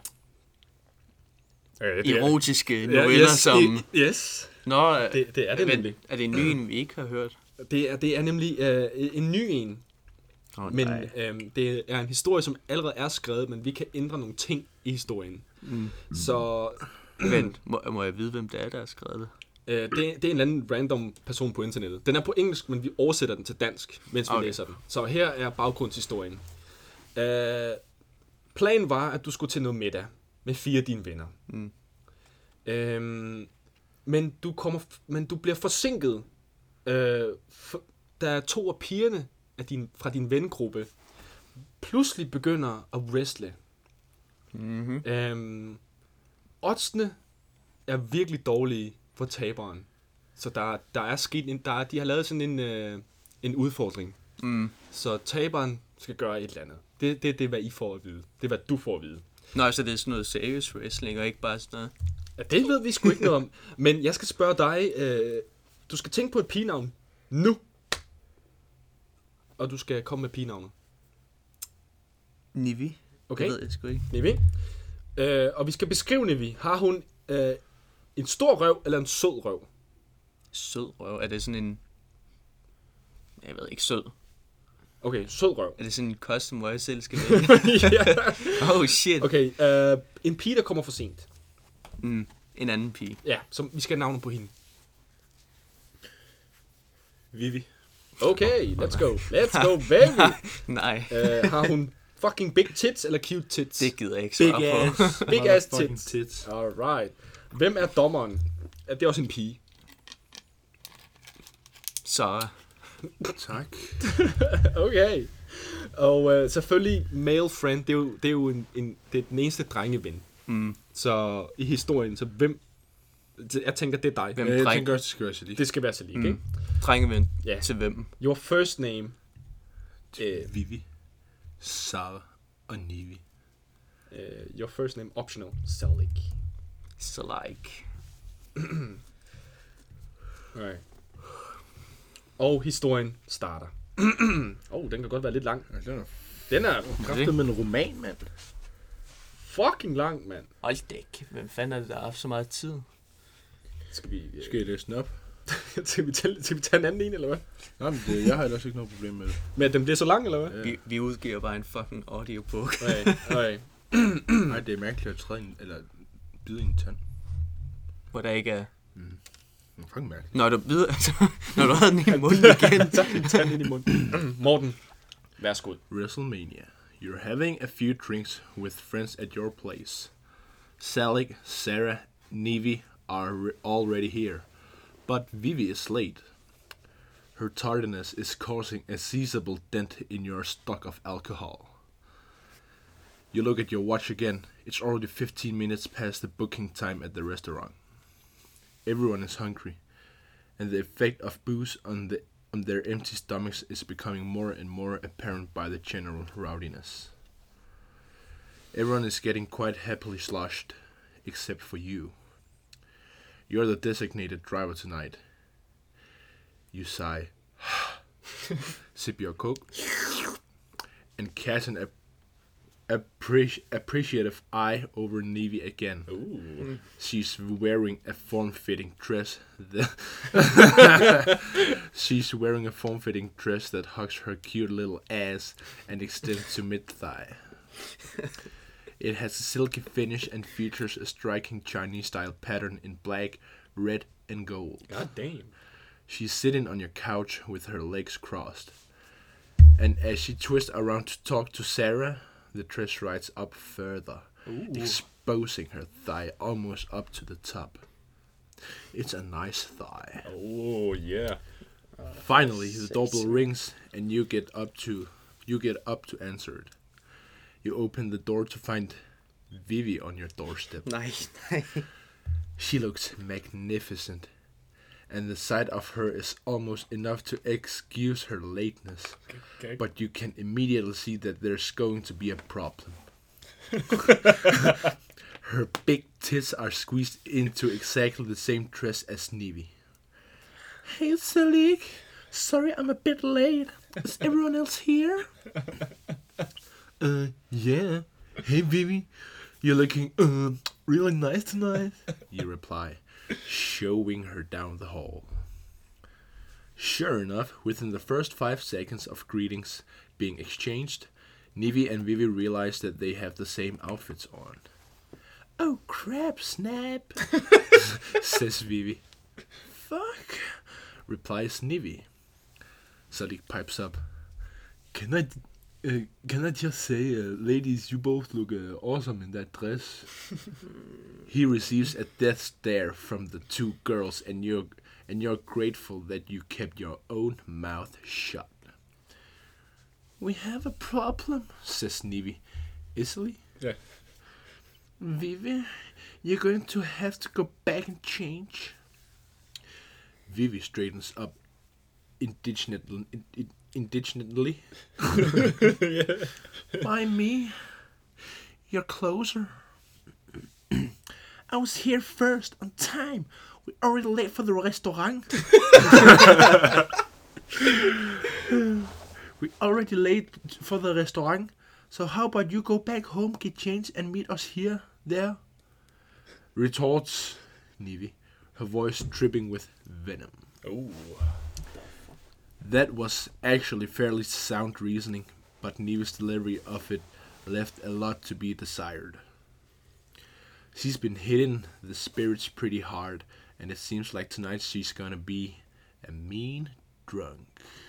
S1: Øh,
S3: erotiske noveller,
S1: yes,
S3: som...
S1: i, yes,
S3: Nå,
S1: det, det er det
S3: men,
S1: nemlig.
S3: er det en ny en, vi ikke har hørt?
S1: Det er, det er nemlig øh, en ny en,
S3: Oh,
S1: men øh, det er en historie, som allerede er skrevet, men vi kan ændre nogle ting i historien.
S3: Mm.
S1: Så
S3: Vent, må, må jeg vide, hvem det er, der har skrevet det?
S1: øh, det, det er en eller anden random person på internettet. Den er på engelsk, men vi oversætter den til dansk, mens vi
S3: Okay.
S1: læser den. Så her er baggrundshistorien. Øh, planen var, at du skulle til noget middag med fire af dine venner.
S3: Mm.
S1: Øhm, men, du kommer, men du bliver forsinket. Øh, for, der er to af pigerne af din, fra din vennegruppe pludselig begynder at wrestle.
S3: Mm-hmm.
S1: Øhm, oddsene er virkelig dårlige for taberen. Så der, der er sket en, der er, de har lavet sådan en, øh, en udfordring.
S3: Mm.
S1: Så taberen skal gøre et eller andet. Det, det, det er, hvad I får at vide. Det er, hvad du får at vide.
S3: Nå, så det er sådan noget serious wrestling, og ikke bare sådan noget...
S1: Ja, det ved vi sgu ikke noget om. Men jeg skal spørge dig. Øh, du skal tænke på et pigenavn nu. Og du skal komme med pigenavnet.
S3: Nivi?
S1: Okay.
S3: Det ved jeg sgu ikke.
S1: Nivi. Øh, og vi skal beskrive Nivi. Har hun øh, en stor røv eller en sød røv?
S3: Sød røv. Er det sådan en... Jeg ved ikke, sød.
S1: Okay, sød røv.
S3: Er det sådan en custom, hvor jeg selv skal vælge?
S1: Ja.
S3: Oh shit.
S1: Okay, øh, en pige, der kommer for sent.
S3: Mm. En anden pige.
S1: Ja, så vi skal have navnet på hende.
S2: Vivi.
S1: Okay, let's go. Let's go, baby.
S3: Nej,
S1: øh, har hun fucking big tits eller cute tits?
S3: det gider jeg ikke
S2: Big
S3: svare på.
S2: ass.
S1: Big ass
S2: Motherfucking
S1: tits.
S2: tits.
S1: Alright. Hvem er dommeren? Er det også en pige?
S3: Så...
S2: Tak.
S1: Okay. Og øh, selvfølgelig male friend, det er jo, det er jo en, en, det er den eneste drengeven.
S3: Mm.
S1: Så i historien, så hvem... Jeg tænker, det er dig.
S3: Hvem?
S2: Ja, jeg
S3: dreng.
S2: tænker også, det skal være så lige.
S1: Det skal være så lige,
S3: Mm.
S1: ikke?
S3: Drengeven.
S1: Ja.
S3: Til hvem?
S1: Your first name. Øh,
S2: Vivi, Sara og Nivi.
S1: uh, your first name optional. Salik.
S3: Så like.
S1: Alright. Og historien starter. oh, den kan godt være lidt lang.
S2: Ja, den er
S1: Den er
S2: kraftet med en roman, mand.
S1: fucking lang, mand.
S3: Hold da ikke. Hvem fanden er det, der har haft så meget tid?
S1: Skal vi...
S2: Skal jeg læse den op?
S1: skal, vi tage, skal vi tage en anden en, eller hvad?
S2: Nej, men det, jeg har ellers ikke noget problem med det.
S1: Men at den bliver så lang, eller hvad?
S2: Ja.
S3: Vi, vi udgiver bare en fucking audiobook.
S1: Okay, okay.
S2: Nej, det er mærkeligt at træde en, eller bide i en tand.
S3: Hvor der ikke er...
S2: Mm. Det er fucking mærkeligt.
S3: Når du, ved, altså, når du havde den i munden igen.
S1: Tag den ind i munden. Morten, værsgo.
S2: WrestleMania. You're having a few drinks with friends at your place. Sally, Sarah, Nevi are re- already here. But Vivi is late. Her tardiness is causing a sizable dent in your stock of alcohol. You look at your watch again. It's already fifteen minutes past the booking time at the restaurant. Everyone is hungry, and the effect of booze on the on their empty stomachs is becoming more and more apparent by the general rowdiness. Everyone is getting quite happily sloshed, except for you. You're the designated driver tonight. You sigh, sip your coke, and cast an ap- appreci- appreciative eye over Nevi again.
S1: Ooh.
S2: She's wearing a form-fitting dress. That She's wearing a form-fitting dress that hugs her cute little ass and extends to mid-thigh. It has a silky finish and features a striking Chinese-style pattern in black, red, and gold.
S1: God damn.
S2: She's sitting on your couch with her legs crossed. And as she twists around to talk to Sarah, the dress rides up further,
S1: Ooh.
S2: exposing her thigh almost up to the top. It's a nice thigh.
S1: Oh, yeah.
S2: Finally, the
S3: sexy.
S2: doorbell rings, and you get up to you get up to answer it. You open the door to find Vivi on your doorstep.
S3: Nej, nej.
S2: She looks magnificent, and the sight of her is almost enough to excuse her lateness.
S1: Okay.
S2: But you can immediately see that there's going to be a problem. Her big tits are squeezed into exactly the same dress as Nevi. Hey, Salik. Sorry I'm a bit late. Is everyone else here? Uh, yeah. Hey, Vivi. You're looking, uh, really nice tonight. You reply, showing her down the hall. Sure enough, within the first five seconds of greetings being exchanged, Nevi and Vivi realize that they have the same outfits on. Oh crap, snap, says Vivi. Fuck, replies Nevi. Sadiq pipes up. Can I, uh, can I just say, uh, ladies, you both look uh, awesome in that dress. He receives a death stare from the two girls, and you're and you're grateful that you kept your own mouth shut. We have a problem, says Nevi. Easily?
S1: Yeah.
S2: Vivi, you're going to have to go back and change. Vivi straightens up indignantly. indignantly.
S1: Yeah.
S2: Why me? You're closer. I was here first, on time. We're already late for the restaurant. We're already late for the restaurant. So how about you go back home, get changed, and meet us here, there? Retorts Nevi, her voice dripping with venom.
S1: Oh.
S2: That was actually fairly sound reasoning, but Nevi's delivery of it left a lot to be desired. She's been hitting the spirits pretty hard, and it seems like tonight she's gonna be a mean drunk.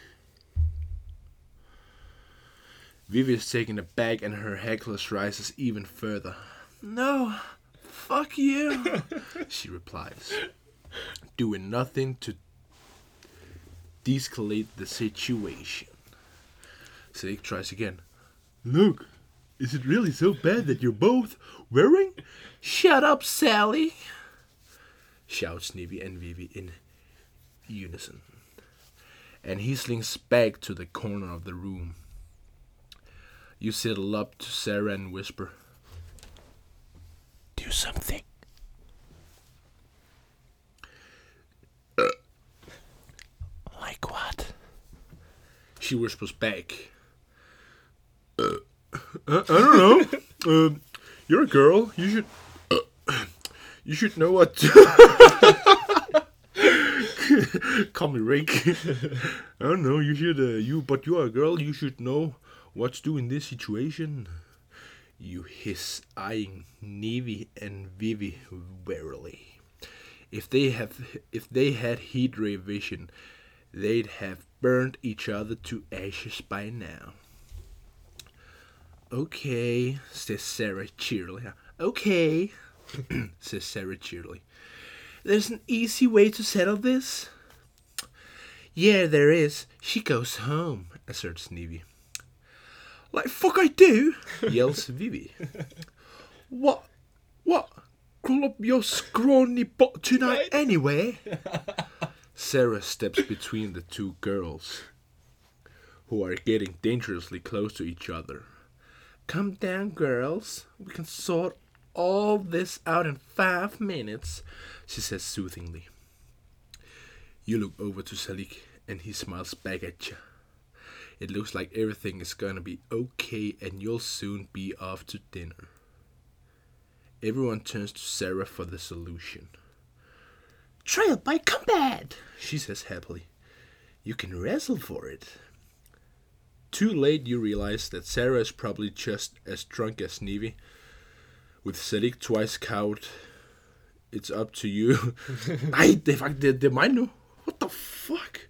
S2: Vivi is taken aback and her heckles rises even further. No, fuck you, she replies, doing nothing to de-escalate the situation. Sadiq tries again. Look, is it really so bad that you're both wearing? Shut up, Sally, shouts Nevi and Vivi in unison. And he slinks back to the corner of the room. You sidle up to Sarah and whisper, do something. Uh, like what? She whispers back. Uh, I, I don't know. uh, you're a girl. You should. Uh, you should know what. To Call me Rick. I don't know. You should. Uh, you, but you are a girl. You should know what to do in this situation. You hiss, eyeing Navy and Vivi warily. If they have, if they had heat ray vision, they'd have burned each other to ashes by now. Okay, says Sarah cheerily. Okay, says Sarah cheerily. There's an easy way to settle this. Yeah, there is. She goes home, asserts Navy. Like fuck I do, yells Vivi. What? What? Crawl up your scrawny butt tonight anyway? Sarah steps between the two girls, who are getting dangerously close to each other. Come down, girls. We can sort all this out in five minutes, she says soothingly. You look over to Salik, and he smiles back at you. It looks like everything is gonna be okay and you'll soon be off to dinner. Everyone turns to Sarah for the solution. Trial by combat, she says happily. You can wrestle for it. Too late you realize that Sarah is probably just as drunk as Navy. With Salik twice cowed, it's up to you. Nej, det er faktisk det, det er mig nu. What the fuck?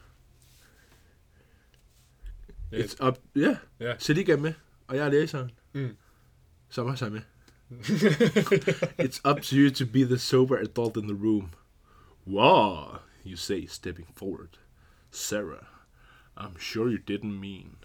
S1: Yeah.
S2: It's up, yeah.
S1: Yeah.
S2: Salik er med, og jeg er læseren.
S1: Mm.
S2: Som også er med. It's up to you to be the sober adult in the room. Wow, you say, stepping forward. Sarah, I'm sure you didn't mean.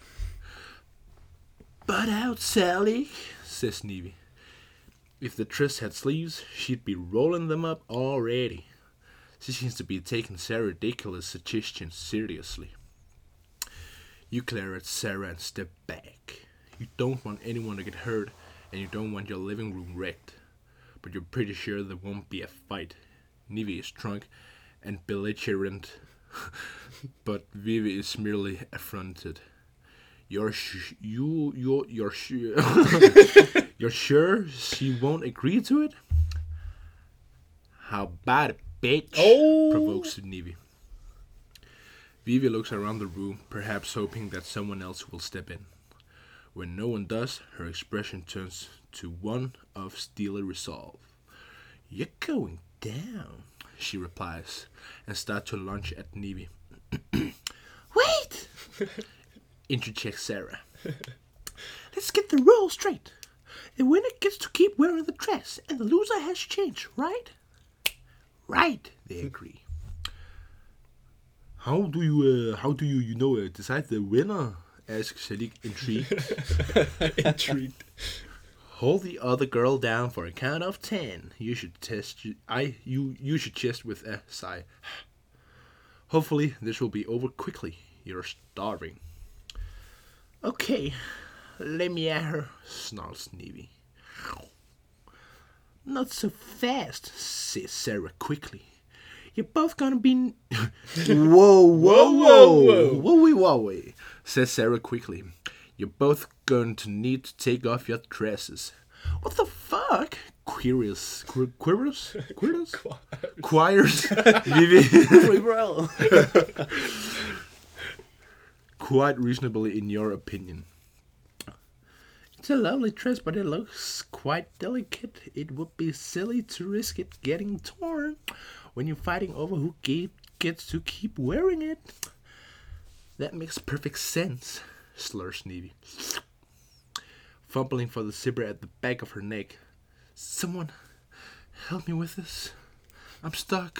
S2: Butt out, Sally, says Navy. If the dress had sleeves, she'd be rolling them up already. She seems to be taking Sarah's ridiculous suggestions seriously. You glare at Sarah and step back. You don't want anyone to get hurt, and you don't want your living room wrecked. But you're pretty sure there won't be a fight. Navy is drunk and belligerent, but Vivi is merely affronted. You're sh- you you you're sure you're sure she won't agree to it? How about it, bitch?
S1: Oh.
S2: Provokes Navy. Vivi looks around the room, perhaps hoping that someone else will step in. When no one does, her expression turns to one of steely resolve. You're going down, she replies, and starts to lunge at Navy. Wait! Interjects Sarah. Let's get the rules straight. The winner gets to keep wearing the dress, and the loser has to change, right? Right, they agree. How do you, uh, how do you, you know, uh, decide the winner? Asks Salik, intrigued.
S1: Intrigued.
S2: Hold the other girl down for a count of ten. You should test. I you you should test with a sigh. Hopefully this will be over quickly. You're starving. Okay, let me at her, snarls Navy. Not so fast, says Sarah quickly. You're both gonna be. whoa, whoa, whoa, whoa, whoa, whoa, says Sarah quickly. You're both going to need to take off your dresses. What the fuck? Queers, qu- queers, queers, choirs, Vivi. Quite reasonably, in your opinion. It's a lovely dress, but it looks quite delicate. It would be silly to risk it getting torn when you're fighting over who ge- gets to keep wearing it. That makes perfect sense, slurs Navy, fumbling for the zipper at the back of her neck. Someone help me with this. I'm stuck.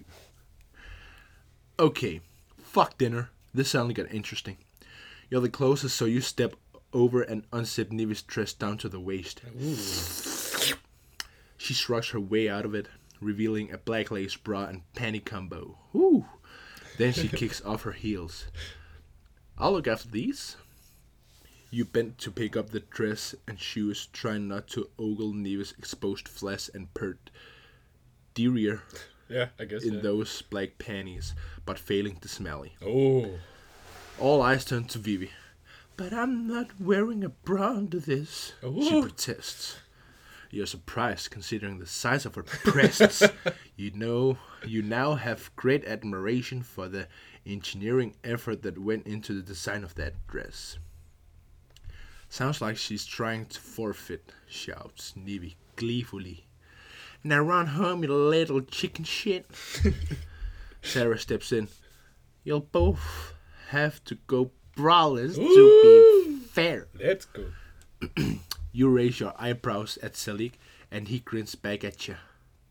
S2: Okay, fuck dinner. This suddenly got interesting. You're the closest, so you step over and unzip Navy's dress down to the waist. Ooh. She shrugs her way out of it, revealing a black lace bra and panty combo. Ooh. Then she kicks off her heels. I'll look after these. You bent to pick up the dress and shoes, trying not to ogle Navy's exposed flesh and pert derriere
S1: Yeah, I guess.
S2: in
S1: yeah.
S2: those black panties, but failing to smelly.
S1: Oh.
S2: All eyes turn to Vivi. But I'm not wearing a bra under this,
S1: Ooh.
S2: she protests. You're surprised considering the size of her breasts. You know, you now have great admiration for the engineering effort that went into the design of that dress. Sounds like she's trying to forfeit, shouts Nivi gleefully. Now run home, you little chicken shit. Sarah steps in. You'll both have to go braless to be fair.
S1: Let's go.
S2: You raise your eyebrows at Selig, and he grins back at you.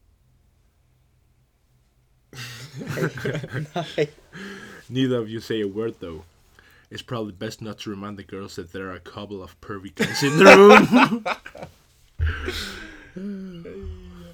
S2: Neither of you say a word, though. It's probably best not to remind the girls that there are a couple of pervy guys in the room.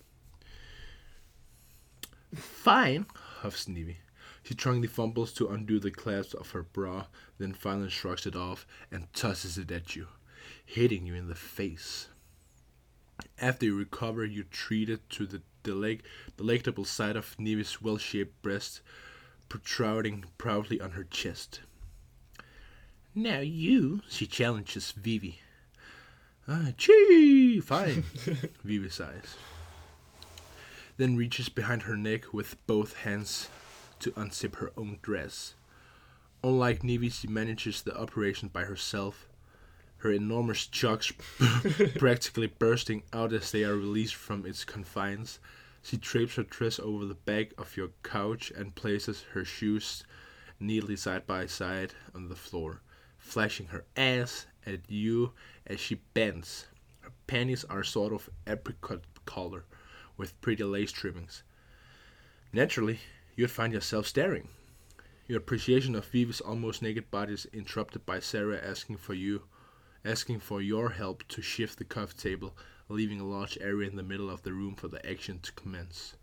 S2: Fine, huffs Nivi. She strongly fumbles to undo the clasp of her bra, then finally shrugs it off and tosses it at you, hitting you in the face. After you recover, you treat it to the deleg- delectable sight of Nivi's well-shaped breast protruding proudly on her chest. Now you, she challenges Vivi. Ah, gee, fine, Vivi sighs. Then reaches behind her neck with both hands to unzip her own dress. Unlike Nivi, she manages the operation by herself, her enormous chocks practically bursting out as they are released from its confines. She drapes her dress over the back of your couch and places her shoes neatly side by side on the floor, flashing her ass at you as she bends. Her panties are sort of apricot color with pretty lace trimmings. Naturally, you'd find yourself staring. Your appreciation of Vivi's almost naked body is interrupted by Sarah asking for you, asking for your help to shift the coffee table, leaving a large area in the middle of the room for the action to commence.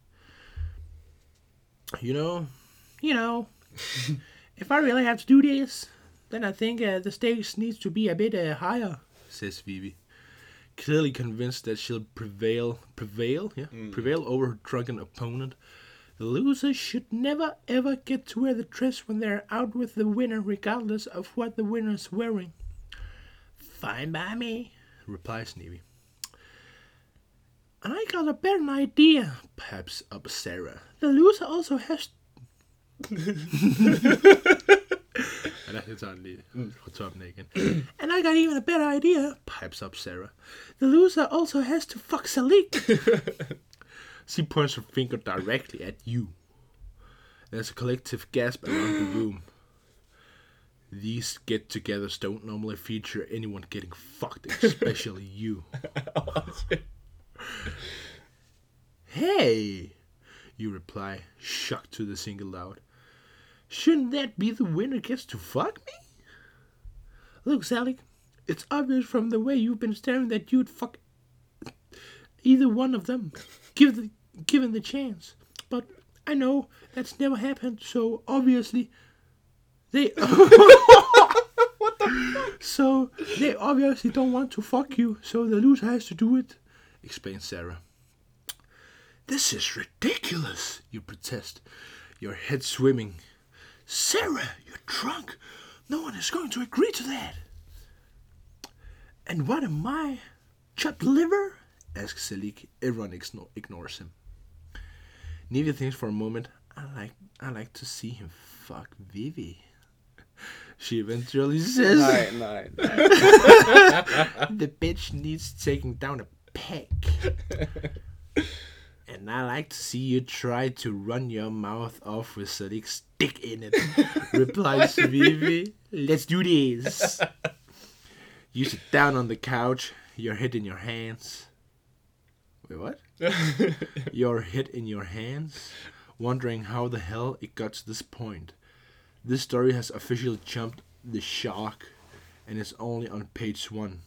S2: You know, you know, if I really have to do this, then I think uh, the stakes needs to be a bit uh, higher, says Vivi, clearly convinced that she'll prevail, prevail, yeah, mm. prevail over her drunken opponent. The losers should never ever get to wear the dress when they're out with the winner, regardless of what the winner's wearing. Fine by me, replies Nivi. I got a better idea, pipes up Sarah. The loser also has... And I got even a better idea, pipes up Sarah. The loser also has to fuck Salik. She points her finger directly at you. There's a collective gasp around the room. These get-togethers don't normally feature anyone getting fucked, especially you. Hey, you reply, shocked to the single out. Shouldn't that be the winner gets to fuck me? Look, Sally, it's obvious from the way you've been staring that you'd fuck either one of them, give the, given the chance. But I know that's never happened, so obviously they... What the fuck? So they obviously don't want to fuck you, so the loser has to do it, explains Sarah. This is ridiculous, you protest, your head swimming. Sarah, you're drunk. No one is going to agree to that. And what am I? Chopped liver? Asks Selig. Everyone ignores him. Nivi thinks for a moment. I like I like to see him fuck Vivi. She eventually says,
S3: Nej, nej, nej.
S2: The bitch needs taking down a peg. And I like to see you try to run your mouth off with Salik's dick in it, replies Vivi. Let's do this. You sit down on the couch, your head in your hands. Wait, what? Your head in your hands, wondering how the hell it got to this point. This story has officially jumped the shark and is only on page one.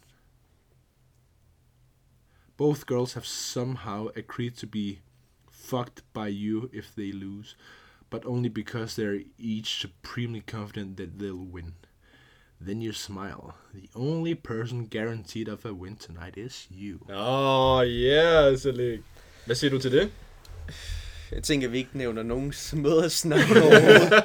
S2: Both girls have somehow agreed to be fucked by you if they lose, but only because they're each supremely confident that they'll win. Then you smile. The only person guaranteed of a win tonight is you.
S1: Åh, oh, yeah, Selig. Hvad siger du til det?
S3: Jeg tænker, vi ikke nævner nogens møders navn overhovedet.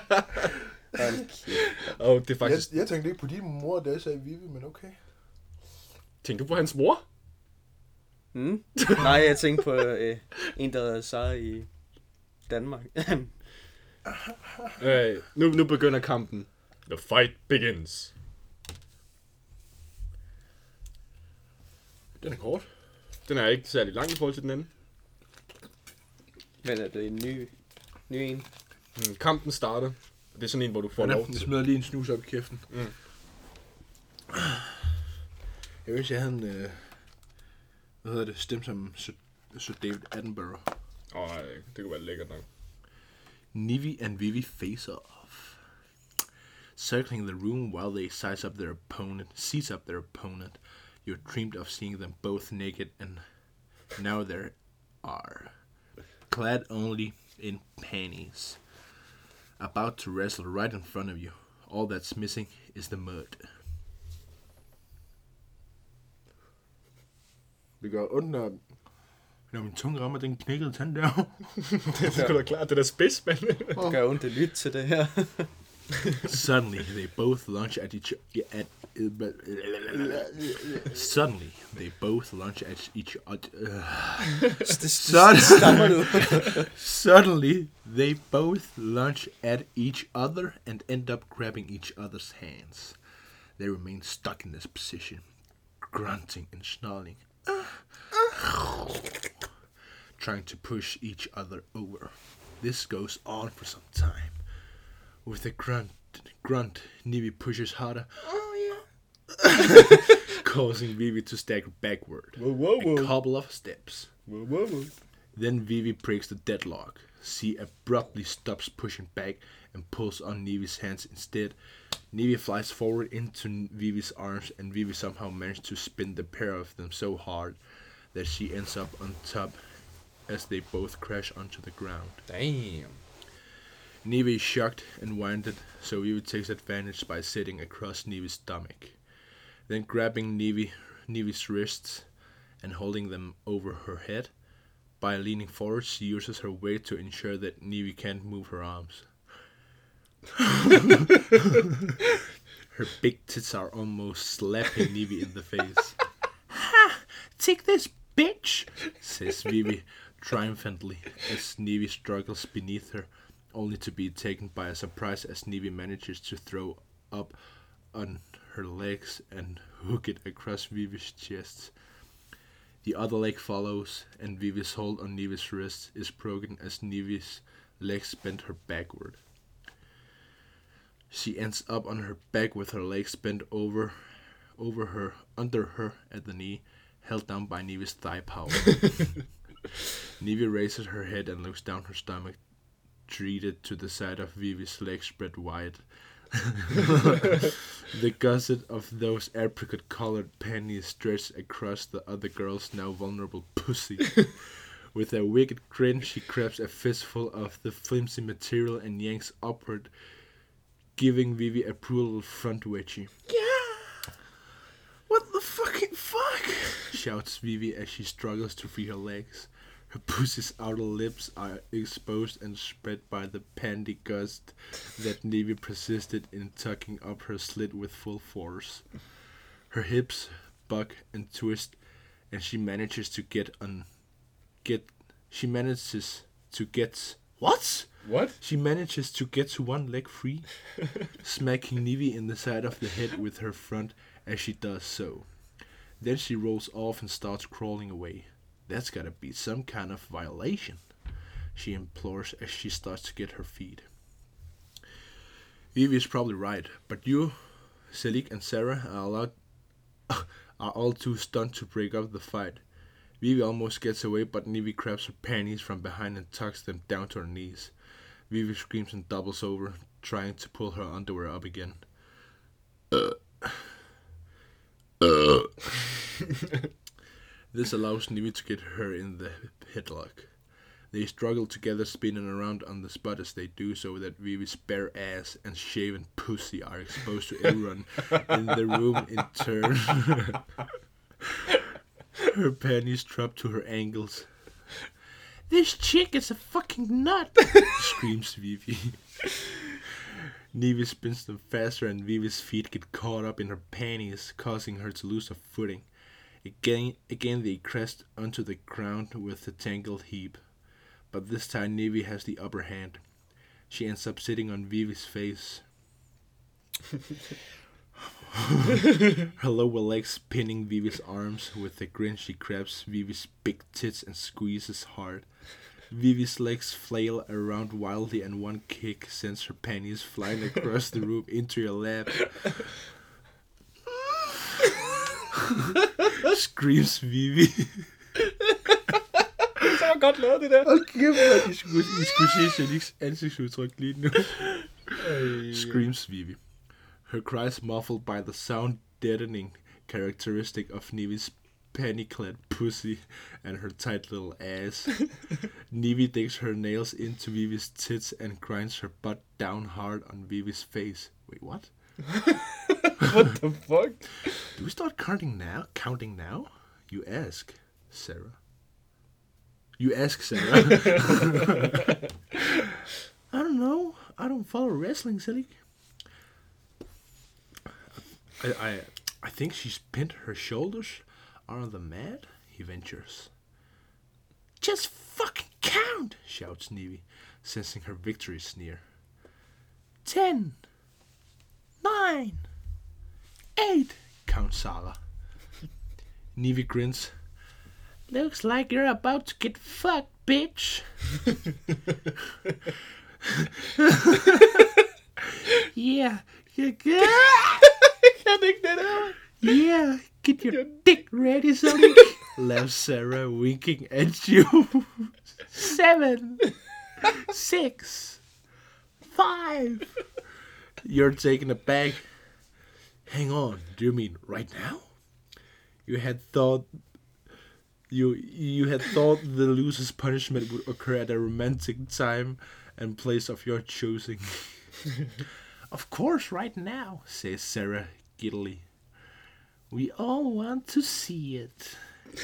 S1: Oh, det er faktisk...
S4: Jeg, jeg tænkte ikke på din mor, da jeg sagde Vivi, men okay.
S1: Tænkte du på hans mor?
S3: Hmm? Nej, jeg tænkte på øh, en, der hedder Sara i Danmark.
S1: øh, nu, nu begynder kampen. The fight begins. Den er kort. Den er ikke særlig lang i forhold til den anden.
S3: Men er det en ny, ny en?
S1: Mm, kampen starter. Det er sådan en, hvor du får
S2: Ja,
S1: lov
S2: jeg
S1: til.
S2: smider lige en snus op i kæften.
S1: Mm.
S2: Jeg vil jeg havde en, øh, hvad hedder det, stemme som Sir, Sir David Attenborough.
S1: Åh, oh, det kunne være lækkert nok.
S2: Nivi and Vivi face off, circling the room while they size up their opponent, seize up their opponent. You dreamed of seeing them both naked, and now they are clad only in panties, about to wrestle right in front of you. All that's missing is the mud. Det gør ondt, når, når min tunge rammer den knækkede tand der.
S1: Det er sgu da klart, det der spids, mand.
S3: Det gør ondt at lytte til det her.
S2: Suddenly, they both lunge at each at. Suddenly, they both lunge at each other.
S3: Stammer du?
S2: Suddenly, they both lunge at each other and end up grabbing each other's hands. They remain stuck in this position, grunting and snarling, trying to push each other over. This goes on for some time. With a grunt, grunt, Nivi pushes harder, causing Vivi to stagger backward
S1: Whoa, whoa, whoa.
S2: a couple of steps.
S1: Whoa, whoa, whoa.
S2: Then Vivi breaks the deadlock. She abruptly stops pushing back and pulls on Nivi's hands instead. Nivi flies forward into Vivi's arms, and Vivi somehow manages to spin the pair of them so hard that she ends up on top as they both crash onto the ground.
S1: Damn.
S2: Nivi is shocked and winded, so Vivi takes advantage by sitting across Nivi's stomach. Then grabbing Nivi, Nivi's wrists and holding them over her head. By leaning forward, she uses her weight to ensure that Nivi can't move her arms. Her big tits are almost slapping Nivi in the face. Ha! Take this, bitch! Says Vivi triumphantly as Nivi struggles beneath her, only to be taken by a surprise as Nivi manages to throw up on her legs and hook it across Vivi's chest. The other leg follows, and Vivi's hold on Nivi's wrist is broken as Nivi's legs bend her backward. She ends up on her back with her legs bent over, over her, under her at the knee, held down by Nivi's thigh power. Nivi raises her head and looks down her stomach, treated to the side of Vivi's legs spread wide. The gusset of those apricot-colored panties stretched across the other girl's now vulnerable pussy. With a wicked grin, she grabs a fistful of the flimsy material and yanks upward, giving Vivi a brutal front wedgie. Yeah! What the fucking fuck? Shouts Vivi as she struggles to free her legs. Her pussy's outer lips are exposed and spread by the panty gust that Nivi persisted in tucking up her slit with full force. Her hips buck and twist, and she manages to get on, get, she manages to get, what?
S1: What?
S2: She manages to get to one leg free, smacking Nivi in the side of the head with her front as she does so. Then she rolls off and starts crawling away. That's gotta be some kind of violation, she implores as she starts to get her feet. Vivi is probably right, but you, Selig and Sarah are allowed, are all too stunned to break up the fight. Vivi almost gets away, but Nivi grabs her panties from behind and tucks them down to her knees. Vivi screams and doubles over, trying to pull her underwear up again. Uh. Uh. This allows Nivi to get her in the headlock. They struggle together, spinning around on the spot as they do so that Vivi's bare ass and shaven pussy are exposed to everyone in the room in turn. Her panties drop to her ankles. This chick is a fucking nut, screams Vivi. Nivi spins them faster and Vivi's feet get caught up in her panties, causing her to lose her footing. Again, again they crashed onto the ground with a tangled heap. But this time Nivi has the upper hand. She ends up sitting on Vivi's face. Her lower legs pinning Vivi's arms. With a grin she grabs Vivi's big tits and squeezes hard. Vivi's legs flail around wildly and one kick sends her panties flying across the room into your lap. Screams Vivi.
S1: Så var godt lavet det der.
S2: Hold kæft, man. I skulle, I skulle se Shaniks ansigtsudtryk lige nu. Screams Vivi. Her cries muffled by the sound deadening characteristic of Nivi's panty-clad pussy and her tight little ass. Nivi digs her nails into Vivi's tits and grinds her butt down hard on Vivi's face. Wait, what?
S1: What the fuck?
S2: Do we start counting now? Counting now? You ask, Sarah. You ask, Sarah. I don't know. I don't follow wrestling, silly. I, I, I think she's pinned her shoulders on the mat, he ventures. Just fucking count, shouts Nivi, sensing her victory sneer. Ten. Nine. Eight, counts Sarah. Nivi grins. Looks like you're about to get fucked, bitch. Yeah, you good?
S1: Kan ikke det der?
S2: Yeah, get your dick ready, Sonny. Laughs Sarah, winking at you. Seven. Six. Five. You're taken aback. Hang on, do you mean right now? You had thought you you had thought the loser's punishment would occur at a romantic time and place of your choosing. Of course, right now, says Sarah giddily. We all want to see it.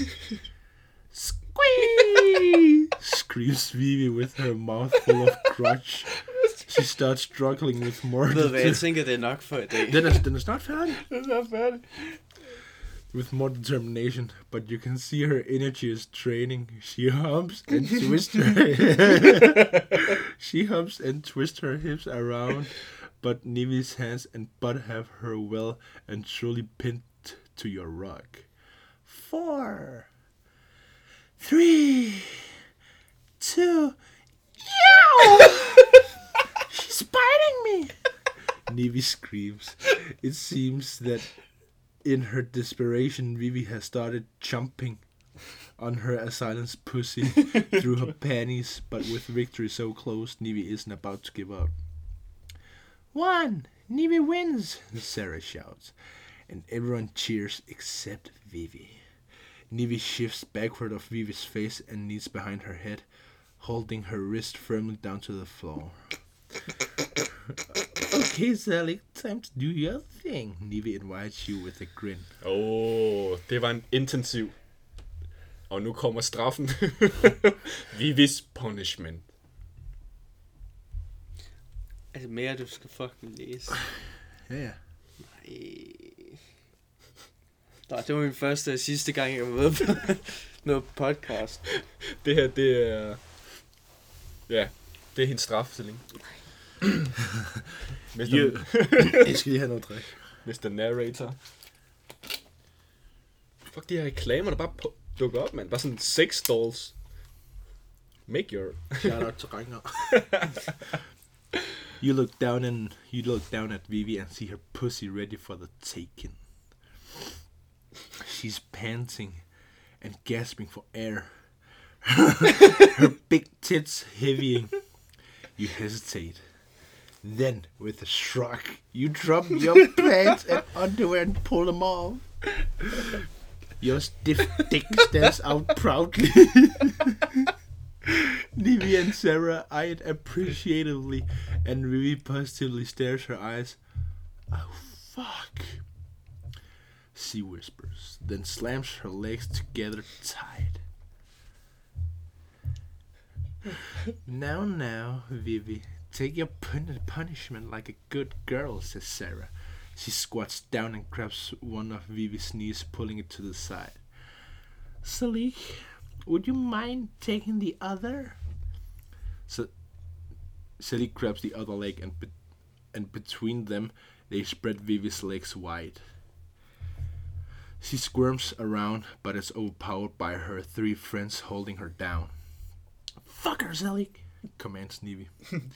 S2: Squeeze! Screams Vivi with her mouth full of crotch. She starts struggling with more.
S3: Ved hvad, jeg tænker, det er nok for i dag.
S2: Den er, den er snart færdig.
S1: Den er snart færdig.
S2: With more determination, but you can see her energy is draining. She humps and twists her She humps and twists her hips around, but Nivi's hands and butt have her well and truly pinned to your rug. Four, three, two, yow! She's biting me! Nivi screams. It seems that in her desperation, Vivi has started jumping on her assailant's pussy through her panties, but with victory so close, Nivi isn't about to give up. One! Nivi wins! Sarah shouts, and everyone cheers except Vivi. Nivi shifts backward of Vivi's face and knees behind her head, holding her wrist firmly down to the floor. Okay, Sally, time to do your thing. Nivi invites you with a grin.
S1: Åh, oh, det var en intensiv. Og nu kommer straffen. Vivis punishment.
S3: Altså mere, du skal fucking læse.
S2: Ja, ja.
S3: Nej. Nej, det var min første og sidste gang, jeg var med på noget podcast.
S1: Det her, det er... Ja, det er hendes straf, Celine. mister
S2: You... Jeg skal lige have noget drik.
S1: mister Narrator. Fuck, de her reklamer, der bare på, dukker op, mand. Bare sådan sex dolls. Make your...
S2: Shout out til Ragnar. You look down and you look down at Vivi and see her pussy ready for the taking. She's panting and gasping for air. Her big tits heavying. You hesitate. Then, with a shrug, you drop your pants and underwear and pull them off. Your stiff dick stands out proudly. Nivi and Sarah eye it appreciatively, and Vivi positively stares her eyes. Oh, fuck. She whispers, then slams her legs together tight. Now, now, Vivi, take your pun- punishment like a good girl, says Sarah. She squats down and grabs one of Vivi's knees, pulling it to the side. Salik, would you mind taking the other? So, Salik grabs the other leg, and be- and between them, they spread Vivi's legs wide. She squirms around, but is overpowered by her three friends holding her down. Fuck her, Salik, commands Nivi.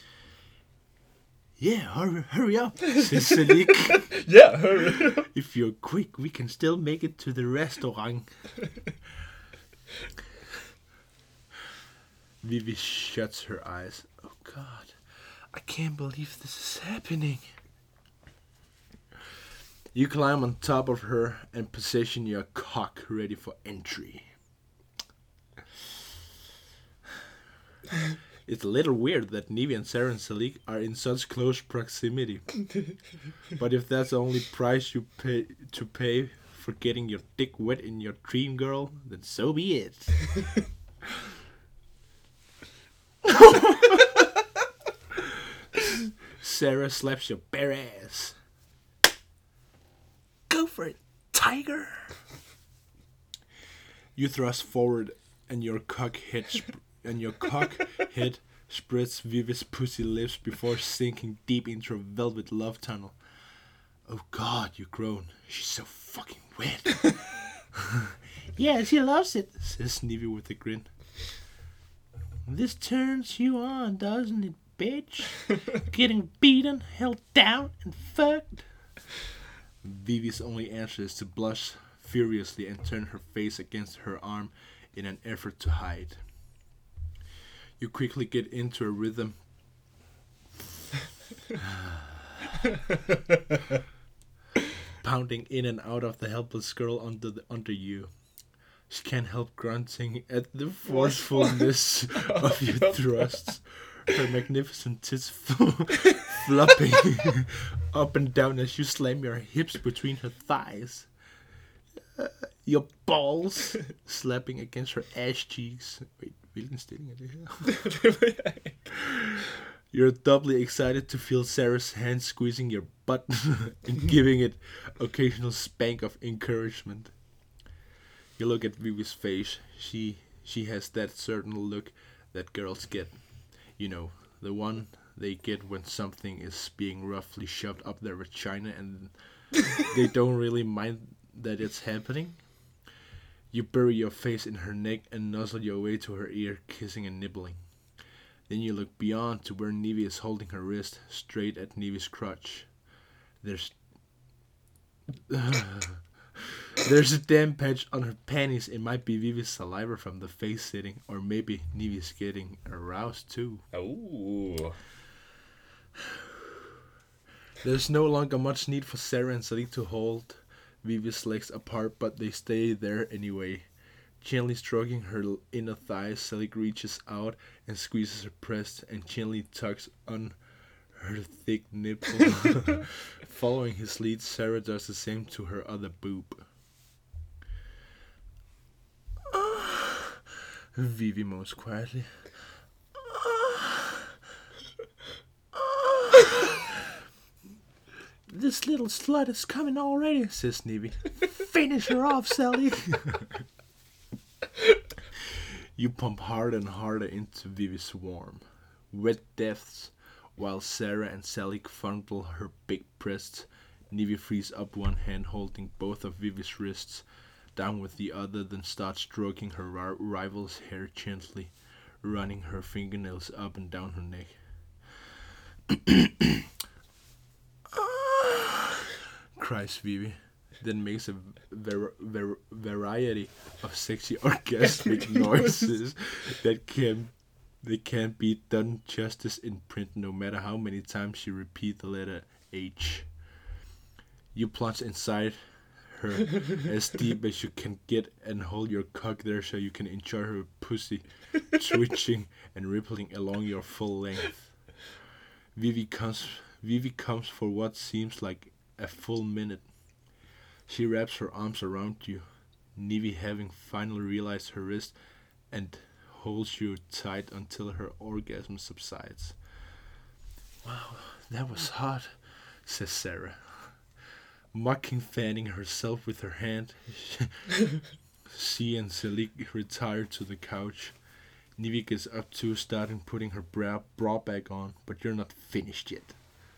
S2: Yeah, hurry, hurry up, says Salik.
S1: Yeah, hurry.
S2: If you're quick, we can still make it to the restaurant. Vivi shuts her eyes. Oh God, I can't believe this is happening. You climb on top of her and position your cock ready for entry. It's a little weird that Nivi and Sarah and Salik are in such close proximity. But if that's the only price you pay to pay for getting your dick wet in your dream girl, then so be it. Sarah slaps your bare ass. Go for it, tiger. You thrust forward and your cock head sp- and your cock head spreads Vivi's pussy lips before sinking deep into a velvet love tunnel. Oh God, you groan. She's so fucking wet. Yeah, she loves it, says Nivi with a grin. This turns you on, doesn't it, bitch? Getting beaten, held down, and fucked. Vivi's only answer is to blush furiously and turn her face against her arm in an effort to hide. You quickly get into a rhythm. Pounding in and out of the helpless girl under the, under you. She can't help grunting at the forcefulness of your thrusts. Her magnificent tits flopping up and down as you slam your hips between her thighs. Uh, your balls slapping against her ass cheeks. Wait, hvilken stilling er det her? You're doubly excited to feel Sarah's hand squeezing your butt and giving it occasional spank of encouragement. You look at Vivi's face. She she has that certain look that girls get. You know, the one they get when something is being roughly shoved up their vagina and they don't really mind that it's happening. You bury your face in her neck and nuzzle your way to her ear, kissing and nibbling. Then you look beyond to where Nivi is holding her wrist straight at Nivi's crotch. There's... There's a damn patch on her panties. It might be Vivi's saliva from the face sitting, or maybe Nivi's getting aroused too.
S1: Oh.
S2: There's no longer much need for Sarah and Salik to hold Vivi's legs apart, but they stay there anyway. Gently stroking her inner thighs, Salik reaches out and squeezes her breast and gently tugs on her thick nipple. Following his lead, Sarah does the same to her other boob. Vivi moans quietly. This little slut is coming already, says Nivi. Finish her off, Sally. You pump harder and harder into Vivi's warm, wet depths, while Sarah and Sally fondle her big breasts. Nivi frees up one hand holding both of Vivi's wrists, down with the other, then starts stroking her ri- rival's hair gently, running her fingernails up and down her neck. Cries Vivi, then makes a ver- ver- variety of sexy orgasmic noises that can they can't be done justice in print, no matter how many times she repeats the letter H. You plunge inside her as deep as you can get and hold your cock there so you can enjoy her pussy twitching and rippling along your full length. Vivi comes, Vivi comes for what seems like a full minute. She wraps her arms around you, Nivi having finally realized her wrist, and holds you tight until her orgasm subsides. Wow, that was hot, says Sarah. Mocking fanning herself with her hand, C and Selig retire to the couch. Nivi gets up too, starting putting her bra, bra back on, but you're not finished yet.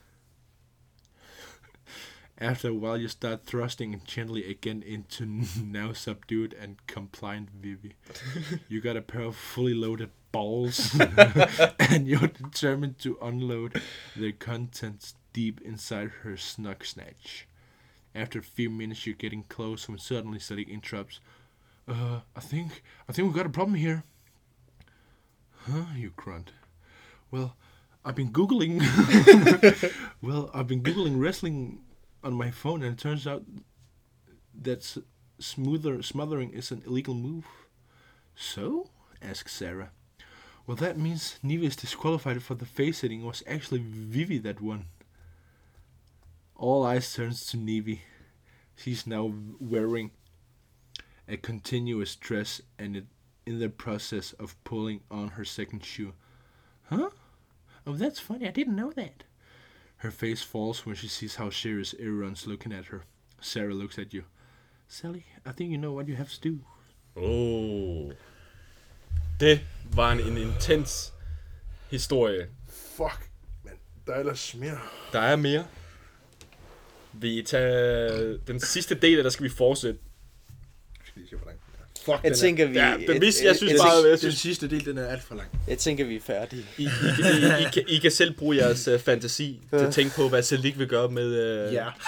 S2: After a while, you start thrusting gently again into now subdued and compliant Vivi. You got a pair of fully loaded balls, and you're determined to unload their contents deep inside her snug snatch. After a few minutes, you're getting close when suddenly Selig interrupts. Uh, I think, I think we got a problem here. Huh? You grunt. Well, I've been googling. well, I've been googling wrestling on my phone, and it turns out that smoother smothering is an illegal move. So? Asks Sarah. Well, that means Nivi is disqualified for the face hitting. It was actually Vivi that won. All eyes turns to Nivi. She's now wearing a continuous dress and it, in the process of pulling on her second shoe. Huh? Oh, that's funny. I didn't know that. Her face falls when she sees how serious everyone's looking at her. Sarah looks at you. Sally, I think you know what you have to do.
S1: Oh. Det var en, en intens historie.
S2: Fuck, men der er ellers mere.
S1: Der er mere. Vi tager den sidste del af, der skal vi fortsætte.
S2: Skal lige se, hvor lang den er.
S3: Fuck, jeg tænker, vi...
S1: Ja, den,
S3: et,
S1: jeg synes
S3: et,
S1: bare,
S3: et,
S1: jeg synes,
S2: den sidste del, den er alt for lang.
S3: Jeg tænker, vi er færdige.
S1: I, I, I, I, kan, I kan selv bruge jeres uh, fantasi til at tænke på, hvad Selig vil gøre med... Uh...
S2: Ja.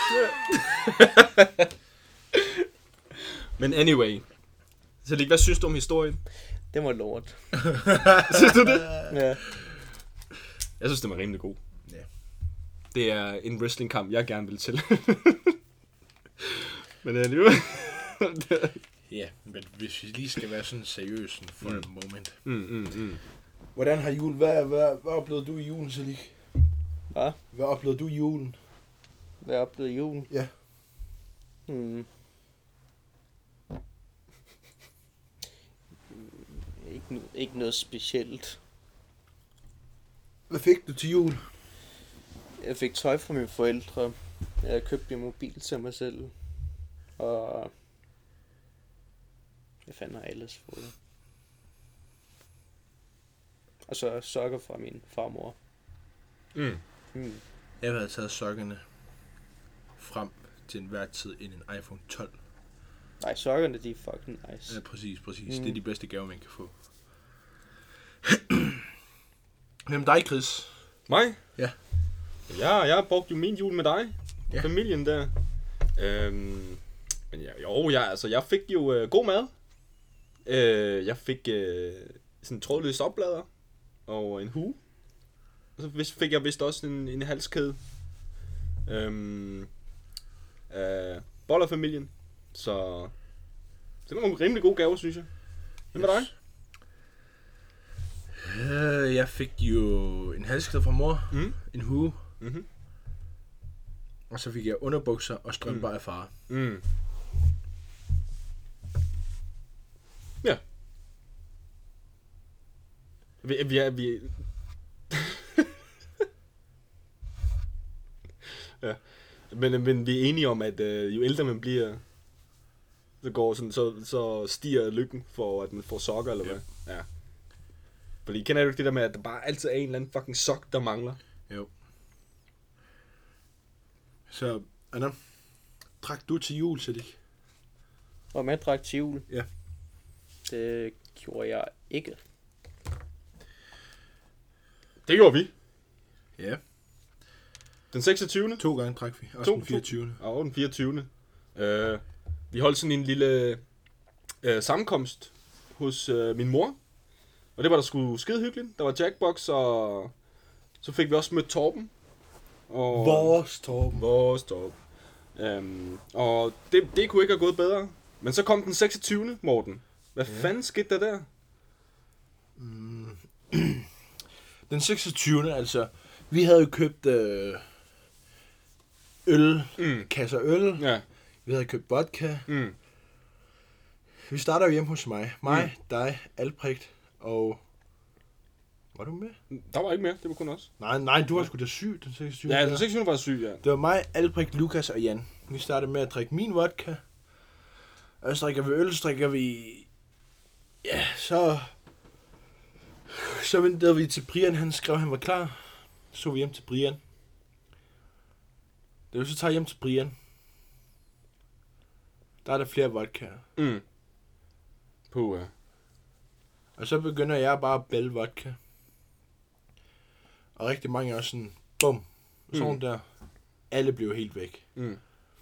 S1: Men anyway. Selig, hvad synes du om historien?
S3: Det var lort.
S1: Synes du det?
S3: Ja.
S1: Jeg synes, det var rimelig god.
S2: Ja.
S1: Det er en wrestlingkamp, jeg gerne vil til. Men alligevel...
S2: Ja, men hvis vi lige skal være sådan seriøs for mm. en moment.
S1: Mm, mm, mm.
S2: Hvordan har jul... Hvad, hvad, hvad oplevede du i julen, Selig?
S3: Hvad?
S2: Hvad oplevede du i julen?
S3: Hvad oplevede julen?
S2: Ja.
S3: Hmm. Ikke, ikke noget specielt.
S2: Hvad fik du til jul?
S3: Jeg fik tøj fra mine forældre. Jeg købte en mobil til mig selv. Og... Hvad fanden har jeg ellers fået? Og så sokker fra min farmor.
S1: Mm.
S3: Hmm.
S2: Jeg havde taget sokkerne frem til enhver tid ind en iPhone tolv.
S3: Nej, sokkerne, de er fucking nice.
S2: Ja, præcis, præcis.
S3: Mm.
S2: Det er de bedste gaver, man kan få. Hvem dig, Chris?
S1: Mig?
S2: Ja.
S1: Ja, jeg har brugt jo min jul med dig.
S2: Ja.
S1: Familien der. Øhm, men ja, jo, ja, altså, jeg fik jo øh, god mad. Øh, jeg fik øh, sådan en trådløs oplader og en hue. Og så fik jeg vist også en, en halskæde. Øhm, øh, Bollerfamilien. Så det var nogle rimelig gode gaver, synes jeg. Hvem var dig?
S2: Uh, jeg fik jo en halskæde fra mor,
S1: Mm.
S2: en hue,
S1: Mm-hmm.
S2: og så fik jeg underbukser og strømper mm. af far.
S1: Mm. Ja. Vi, vi er... Vi... ja. Men, men vi er enige om, at øh, jo ældre man bliver, så, går sådan, så, så stiger lykken for, at man får sokker, eller
S2: Ja.
S1: hvad? Ja. Fordi kender du ikke det der med, at der bare altid er en eller anden fucking sok, der mangler?
S2: Jo. Så, Anna, drak du til jul, Selig?
S3: Og man drak til jul.
S2: Ja.
S3: Det gjorde jeg ikke.
S1: Det gjorde vi.
S2: Ja.
S1: Den seksogtyvende
S2: To gange drak vi. Også
S1: To-
S2: den fireogtyvende
S1: Og den fireogtyvende Øh, vi holdt sådan en lille øh, sammenkomst hos øh, min mor. Og det var der sgu skide hyggeligt. Der var jackbox, og så fik vi også mødt Torben. Og
S2: Vores Torben.
S1: Vores Torben. Øhm, og det, det kunne ikke have gået bedre. Men så kom den seksogtyvende Morten. Hvad ja. fanden skete der der?
S2: Mm. Den seksogtyvende altså. Vi havde jo købt øh, øl,
S1: Mm.
S2: kasser øl.
S1: Ja.
S2: Vi havde købt vodka.
S1: Mm.
S2: Vi starter jo hjemme hos mig. Mig, mm. dig, Albrecht og... Var du med?
S1: Der var ikke mere, det var kun os.
S2: Nej, nej, du var sgu da syg den seksogtyvende
S1: Ja, den seksogtyvende var syg, ja.
S2: Det var mig, Albrecht, Lukas og Jan. Vi startede med at drikke min vodka. Og så drikker vi øl, så drikker vi... Ja, så... Så ventede vi til Brian, han skrev, han var klar. Så vi hjem til Brian. Da vi så tager hjem til Brian, der er der flere vodkaer.
S1: Mm. Puh, ja.
S2: Og så begynder jeg bare at bælge vodka. Og rigtig mange er også sådan, bum, sådan mm. der. Alle blev helt væk.
S1: Mm.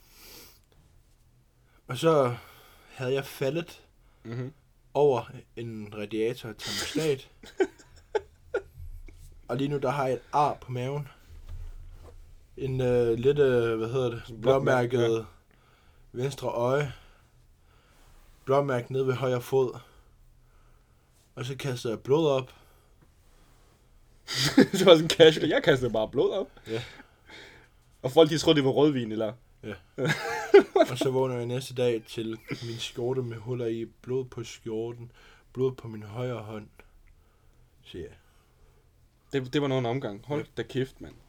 S2: Og så havde jeg faldet
S1: Mm-hmm.
S2: over en radiator termostat. Og lige nu, der har jeg et ar på maven. En øh, lidt, øh, hvad hedder det, blåmærket ja. Venstre øje. Blåmærket nede ved højre fod. Og så kaster jeg blod op.
S1: Det var sådan casual. Jeg kastede bare blod op.
S2: Ja.
S1: Og folk, de troede, det var rødvin, eller?
S2: Ja. Og så vågner jeg næste dag til min skjorte med huller i. Blod på skjorten. Blod på min højre hånd. Så ja.
S1: Det, det var noget en omgang. Hold da kæft, mand.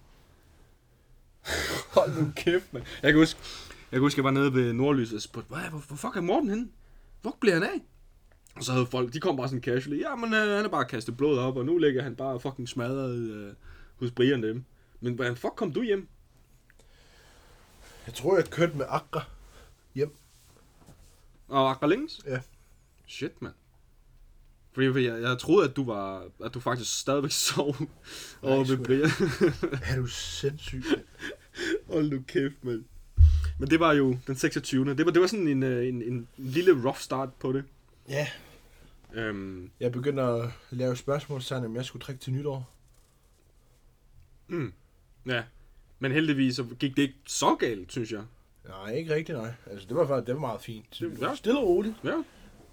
S1: Hold nu kæft, mand. Jeg kan huske, jeg kan huske, jeg var nede ved Nordlys og spurgte, hvor, hvor fuck er Morten henne? Hvor bliver han af? Og så havde folk, de kom bare sådan casually, ja, men øh, han er bare kastet blod op, og nu ligger han bare fucking smadret øh, hos Brian dem. Men hvordan fuck kom du hjem?
S2: Jeg tror, jeg kørte med Akra hjem.
S1: Og Akra længes?
S2: Ja.
S1: Shit, mand. Fordi jeg, jeg troede, at du var, at du faktisk stadigvæk sov over ved Brian.
S2: Er du sindssyg?
S1: Hold nu kæft, mand. Men det var jo den seksogtyvende Det var, det var sådan en, en, en lille rough start på det.
S2: Ja.
S1: Øhm.
S2: Jeg begynder at lave spørgsmålstegn, om jeg skulle drikke til nytår.
S1: Mm. Ja. Men heldigvis så gik det ikke så galt, synes jeg.
S2: Nej, ikke rigtigt, nej. Altså, det var faktisk det var meget fint.
S1: Det, ja.
S2: Stille og roligt.
S1: Ja.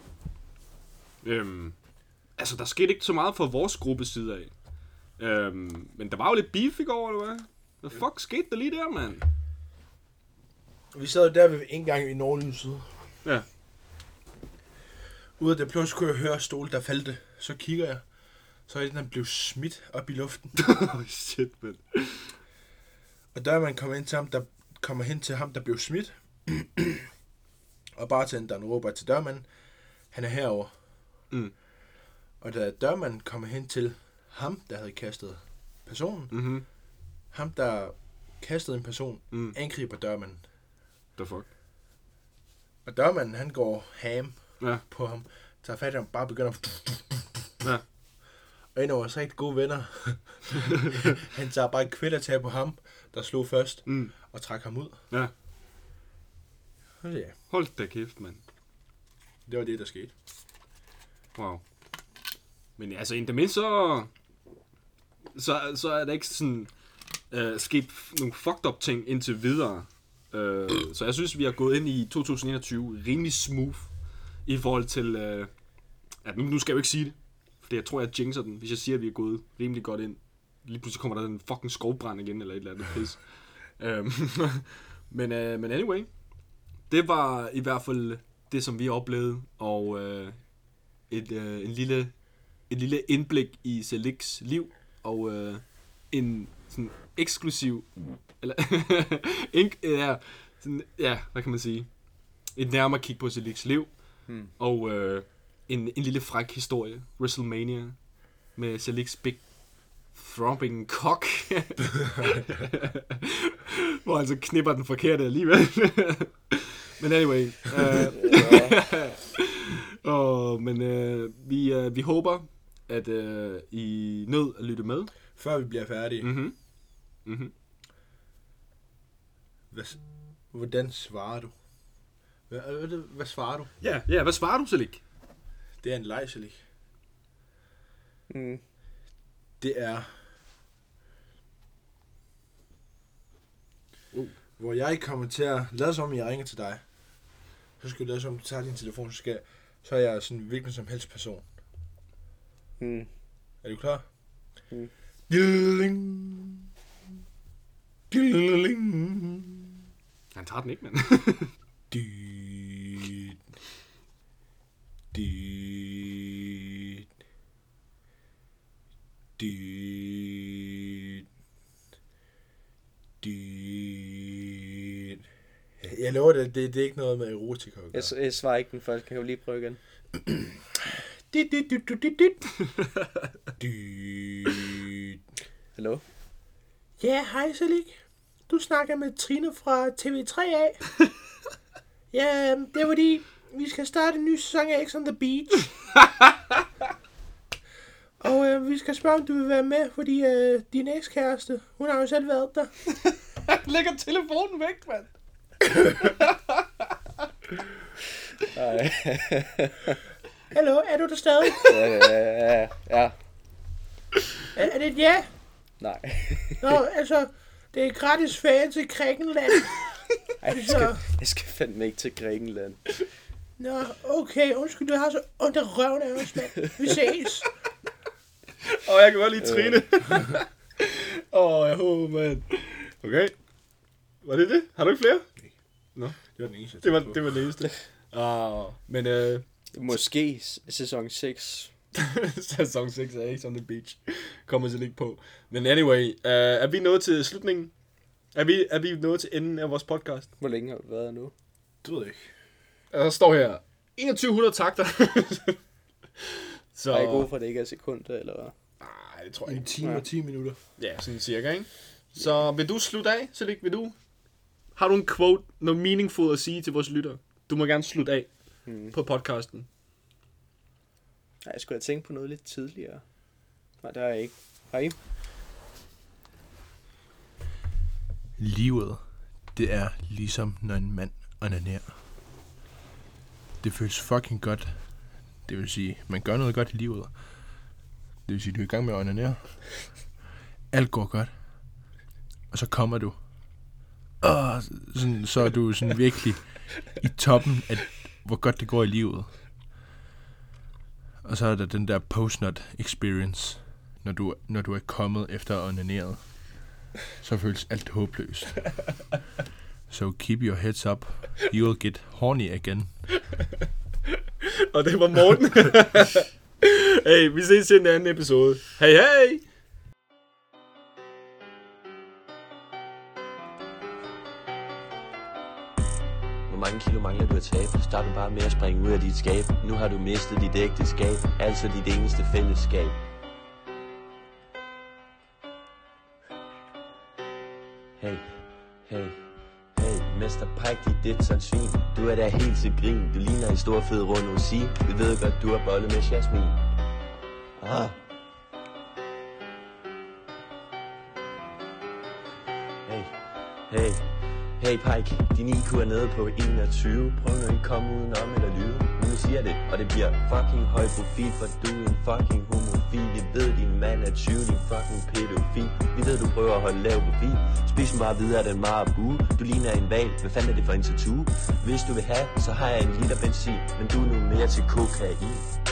S1: Øhm. Altså, der skete ikke så meget fra vores gruppes side af. Øhm. Men der var jo lidt beef i går, eller hvad? Hvad fuck skete der lige der, mand?
S2: Vi sad der ved indgangen i Nordlyset.
S1: Ja.
S2: Ude af det pludselig kunne jeg høre stol, der faldt. Så kigger jeg. Så er den blev smidt op i luften.
S1: Oh, shit, man.
S2: Og der man kommer ind til ham, der kommer hen til ham, der blev smidt. Og bartenderen råber til dørmanden, han er herover.
S1: Mm.
S2: Og da dørmanden kommer hen til ham, der havde kastet personen,
S1: Mhm.
S2: ham, der kastede en person,
S1: Mm.
S2: angriber dørmanden.
S1: The fuck?
S2: Og dørmanden, han går ham
S1: Ja.
S2: på ham, tager fat i ham, bare begynder at...
S1: Ja.
S2: Og en af vores rigtig gode venner, han tager bare et kvælertag på ham, der slog først,
S1: Mm.
S2: og trak ham ud.
S1: Ja.
S2: Og ja,
S1: Hold da kæft, mand.
S2: det var det, der skete.
S1: Wow. Men altså, indtil mindst så... Så, så er der ikke sådan... Øh, sket nogle fucked up ting indtil videre. Øh, så jeg synes, vi har gået ind i to tusind enogtyve rimelig smooth. I forhold til... Øh, ja, nu, nu skal jeg jo ikke sige det. For jeg tror, jeg jinxer den, hvis jeg siger, at vi er gået rimelig godt ind. Lige pludselig kommer der en fucking skovbrand igen, eller et eller andet pis. Øhm, men, øh, men anyway. Det var i hvert fald det, som vi oplevede. Og øh, et, øh, en lille, et lille indblik i Selix liv. Og øh, en sådan eksklusiv... Eller, en, ja, sådan, ja, hvad kan man sige? Et nærmere kig på Selix liv.
S3: Hmm.
S1: Og øh, en, en lille fræk historie. WrestleMania. Med Selix Big Throbbing Cock. Hvor han så knipper den forkerte alligevel. Men anyway. Øh, og, men øh, vi, øh, vi håber, at øh, I nød at lytte med.
S2: Før vi bliver færdige.
S1: Mhm. Mhm.
S2: Hvad, hvordan svarer du? Hvad, hvad, hvad svarer du?
S1: Ja, ja, hvad svarer du, Selik?
S2: Det er en lejselik.
S3: Mm.
S2: Det er...
S1: Uh.
S2: Hvor jeg kommer til at lade som, jeg ringer til dig. Så skal du lade som, du tager din telefon, så, skal, så er jeg sådan en hvilken som helst person.
S3: Mm.
S2: Er du klar?
S3: Mm.
S2: Dilling. Dilling.
S1: Han tager den ikke, mand.
S2: Dit. Dit. Dit. Dit. Jeg lover det, det, det er ikke noget med erotika.
S3: Jeg, jeg svarer ikke den første. Kan du lige prøve igen?
S2: Dit, dit, dit, dit, dit, dit.
S3: Hallo?
S2: Ja, hej Salik. Du snakker med Trine fra T V tre A. Ja, det er fordi, vi skal starte en ny sæson af X on the Beach. Og øh, vi skal spørge, om du vil være med, fordi øh, din ekskæreste, hun har jo selv været der.
S1: Lægger telefonen væk, mand.
S3: Nej.
S2: Hallo, er du der stadig?
S3: Ja, ja, ja, ja.
S2: Er, er det et ja?
S3: Nej.
S2: Nå, altså, det er gratis ferie til Grækenland.
S3: Ej, jeg, skal, jeg skal fandme ikke til Grækenland.
S2: Nå, okay, undskyld, du har så ondt af røven af os, mand. Vi ses.
S1: Åh, oh, jeg kan godt lide Trine. Åh, oh, jeg håber, mand. Okay. Var det det? Har du ikke flere?
S2: Nej.
S1: Nå.
S2: Det var den eneste.
S1: Det var, det var det eneste. Ah, men øh...
S3: Måske sæson seks.
S1: sæson seks er ikke on the beach. Kommer til ikke på. Men anyway, uh, er vi nået til slutningen? Er vi, er vi nået til enden af vores podcast?
S3: Hvor længe har du været nu?
S2: Du ved ikke.
S1: Der står her enogtyve hundrede takter.
S3: Så... Er jeg god for, at det ikke er sekunder, eller hvad?
S1: Nej, det tror jeg
S2: En
S1: ikke.
S2: time og ti minutter.
S1: Ja, sådan cirka, ikke? Så vil du slutte af, Salik? Vil du? Har du en quote, noget meaningful at sige til vores lyttere? Du må gerne slutte af hmm. på podcasten.
S3: Nej, jeg skulle have tænkt på noget lidt tidligere. Nej, det har jeg ikke. Har I?
S2: Livet, det er ligesom når en mand onanerer. Det føles fucking godt. Det vil sige, man gør noget godt i livet. Det vil sige, du er i gang med at onanere. Alt går godt. Og så kommer du. Og sådan, så er du sådan virkelig i toppen af, hvor godt det går i livet. Og så er der den der post-nut experience, når du, når du er kommet efter at onaneret. Så føles alt håbløst. So keep your heads up. You will get horny again.
S1: Og det var Morten. Hey, vi ses i en anden episode. Hey, hey!
S4: Hvor mange kilo mangler du at tabe? Start du bare med at springe ud af dit skab. Nu har du mistet dit ægteskab, altså dit eneste fællesskab. Hey, hey, hey, Mester Pike, dit dit sådan svin. Du er da helt til grin, du ligner en stor fed rund rosin. Vi ved godt, du har bollet med Jasmin. Ah. Hey, hey. Hey Pike, din I Q er nede på enogtyve. Prøv nu ikke komme udenom eller lyve. Nu siger det, og det bliver fucking høj profil. For du er en fucking homofil. Vi ved, din mand er tyve, din fucking pædofil. Vi ved, du prøver at holde lav profil. Spis den bare videre, den meget bue. Du ligner en valg, hvad fanden er det for en tattoo? Hvis du vil have, så har jeg en liter benzin. Men du er nu mere til kokain.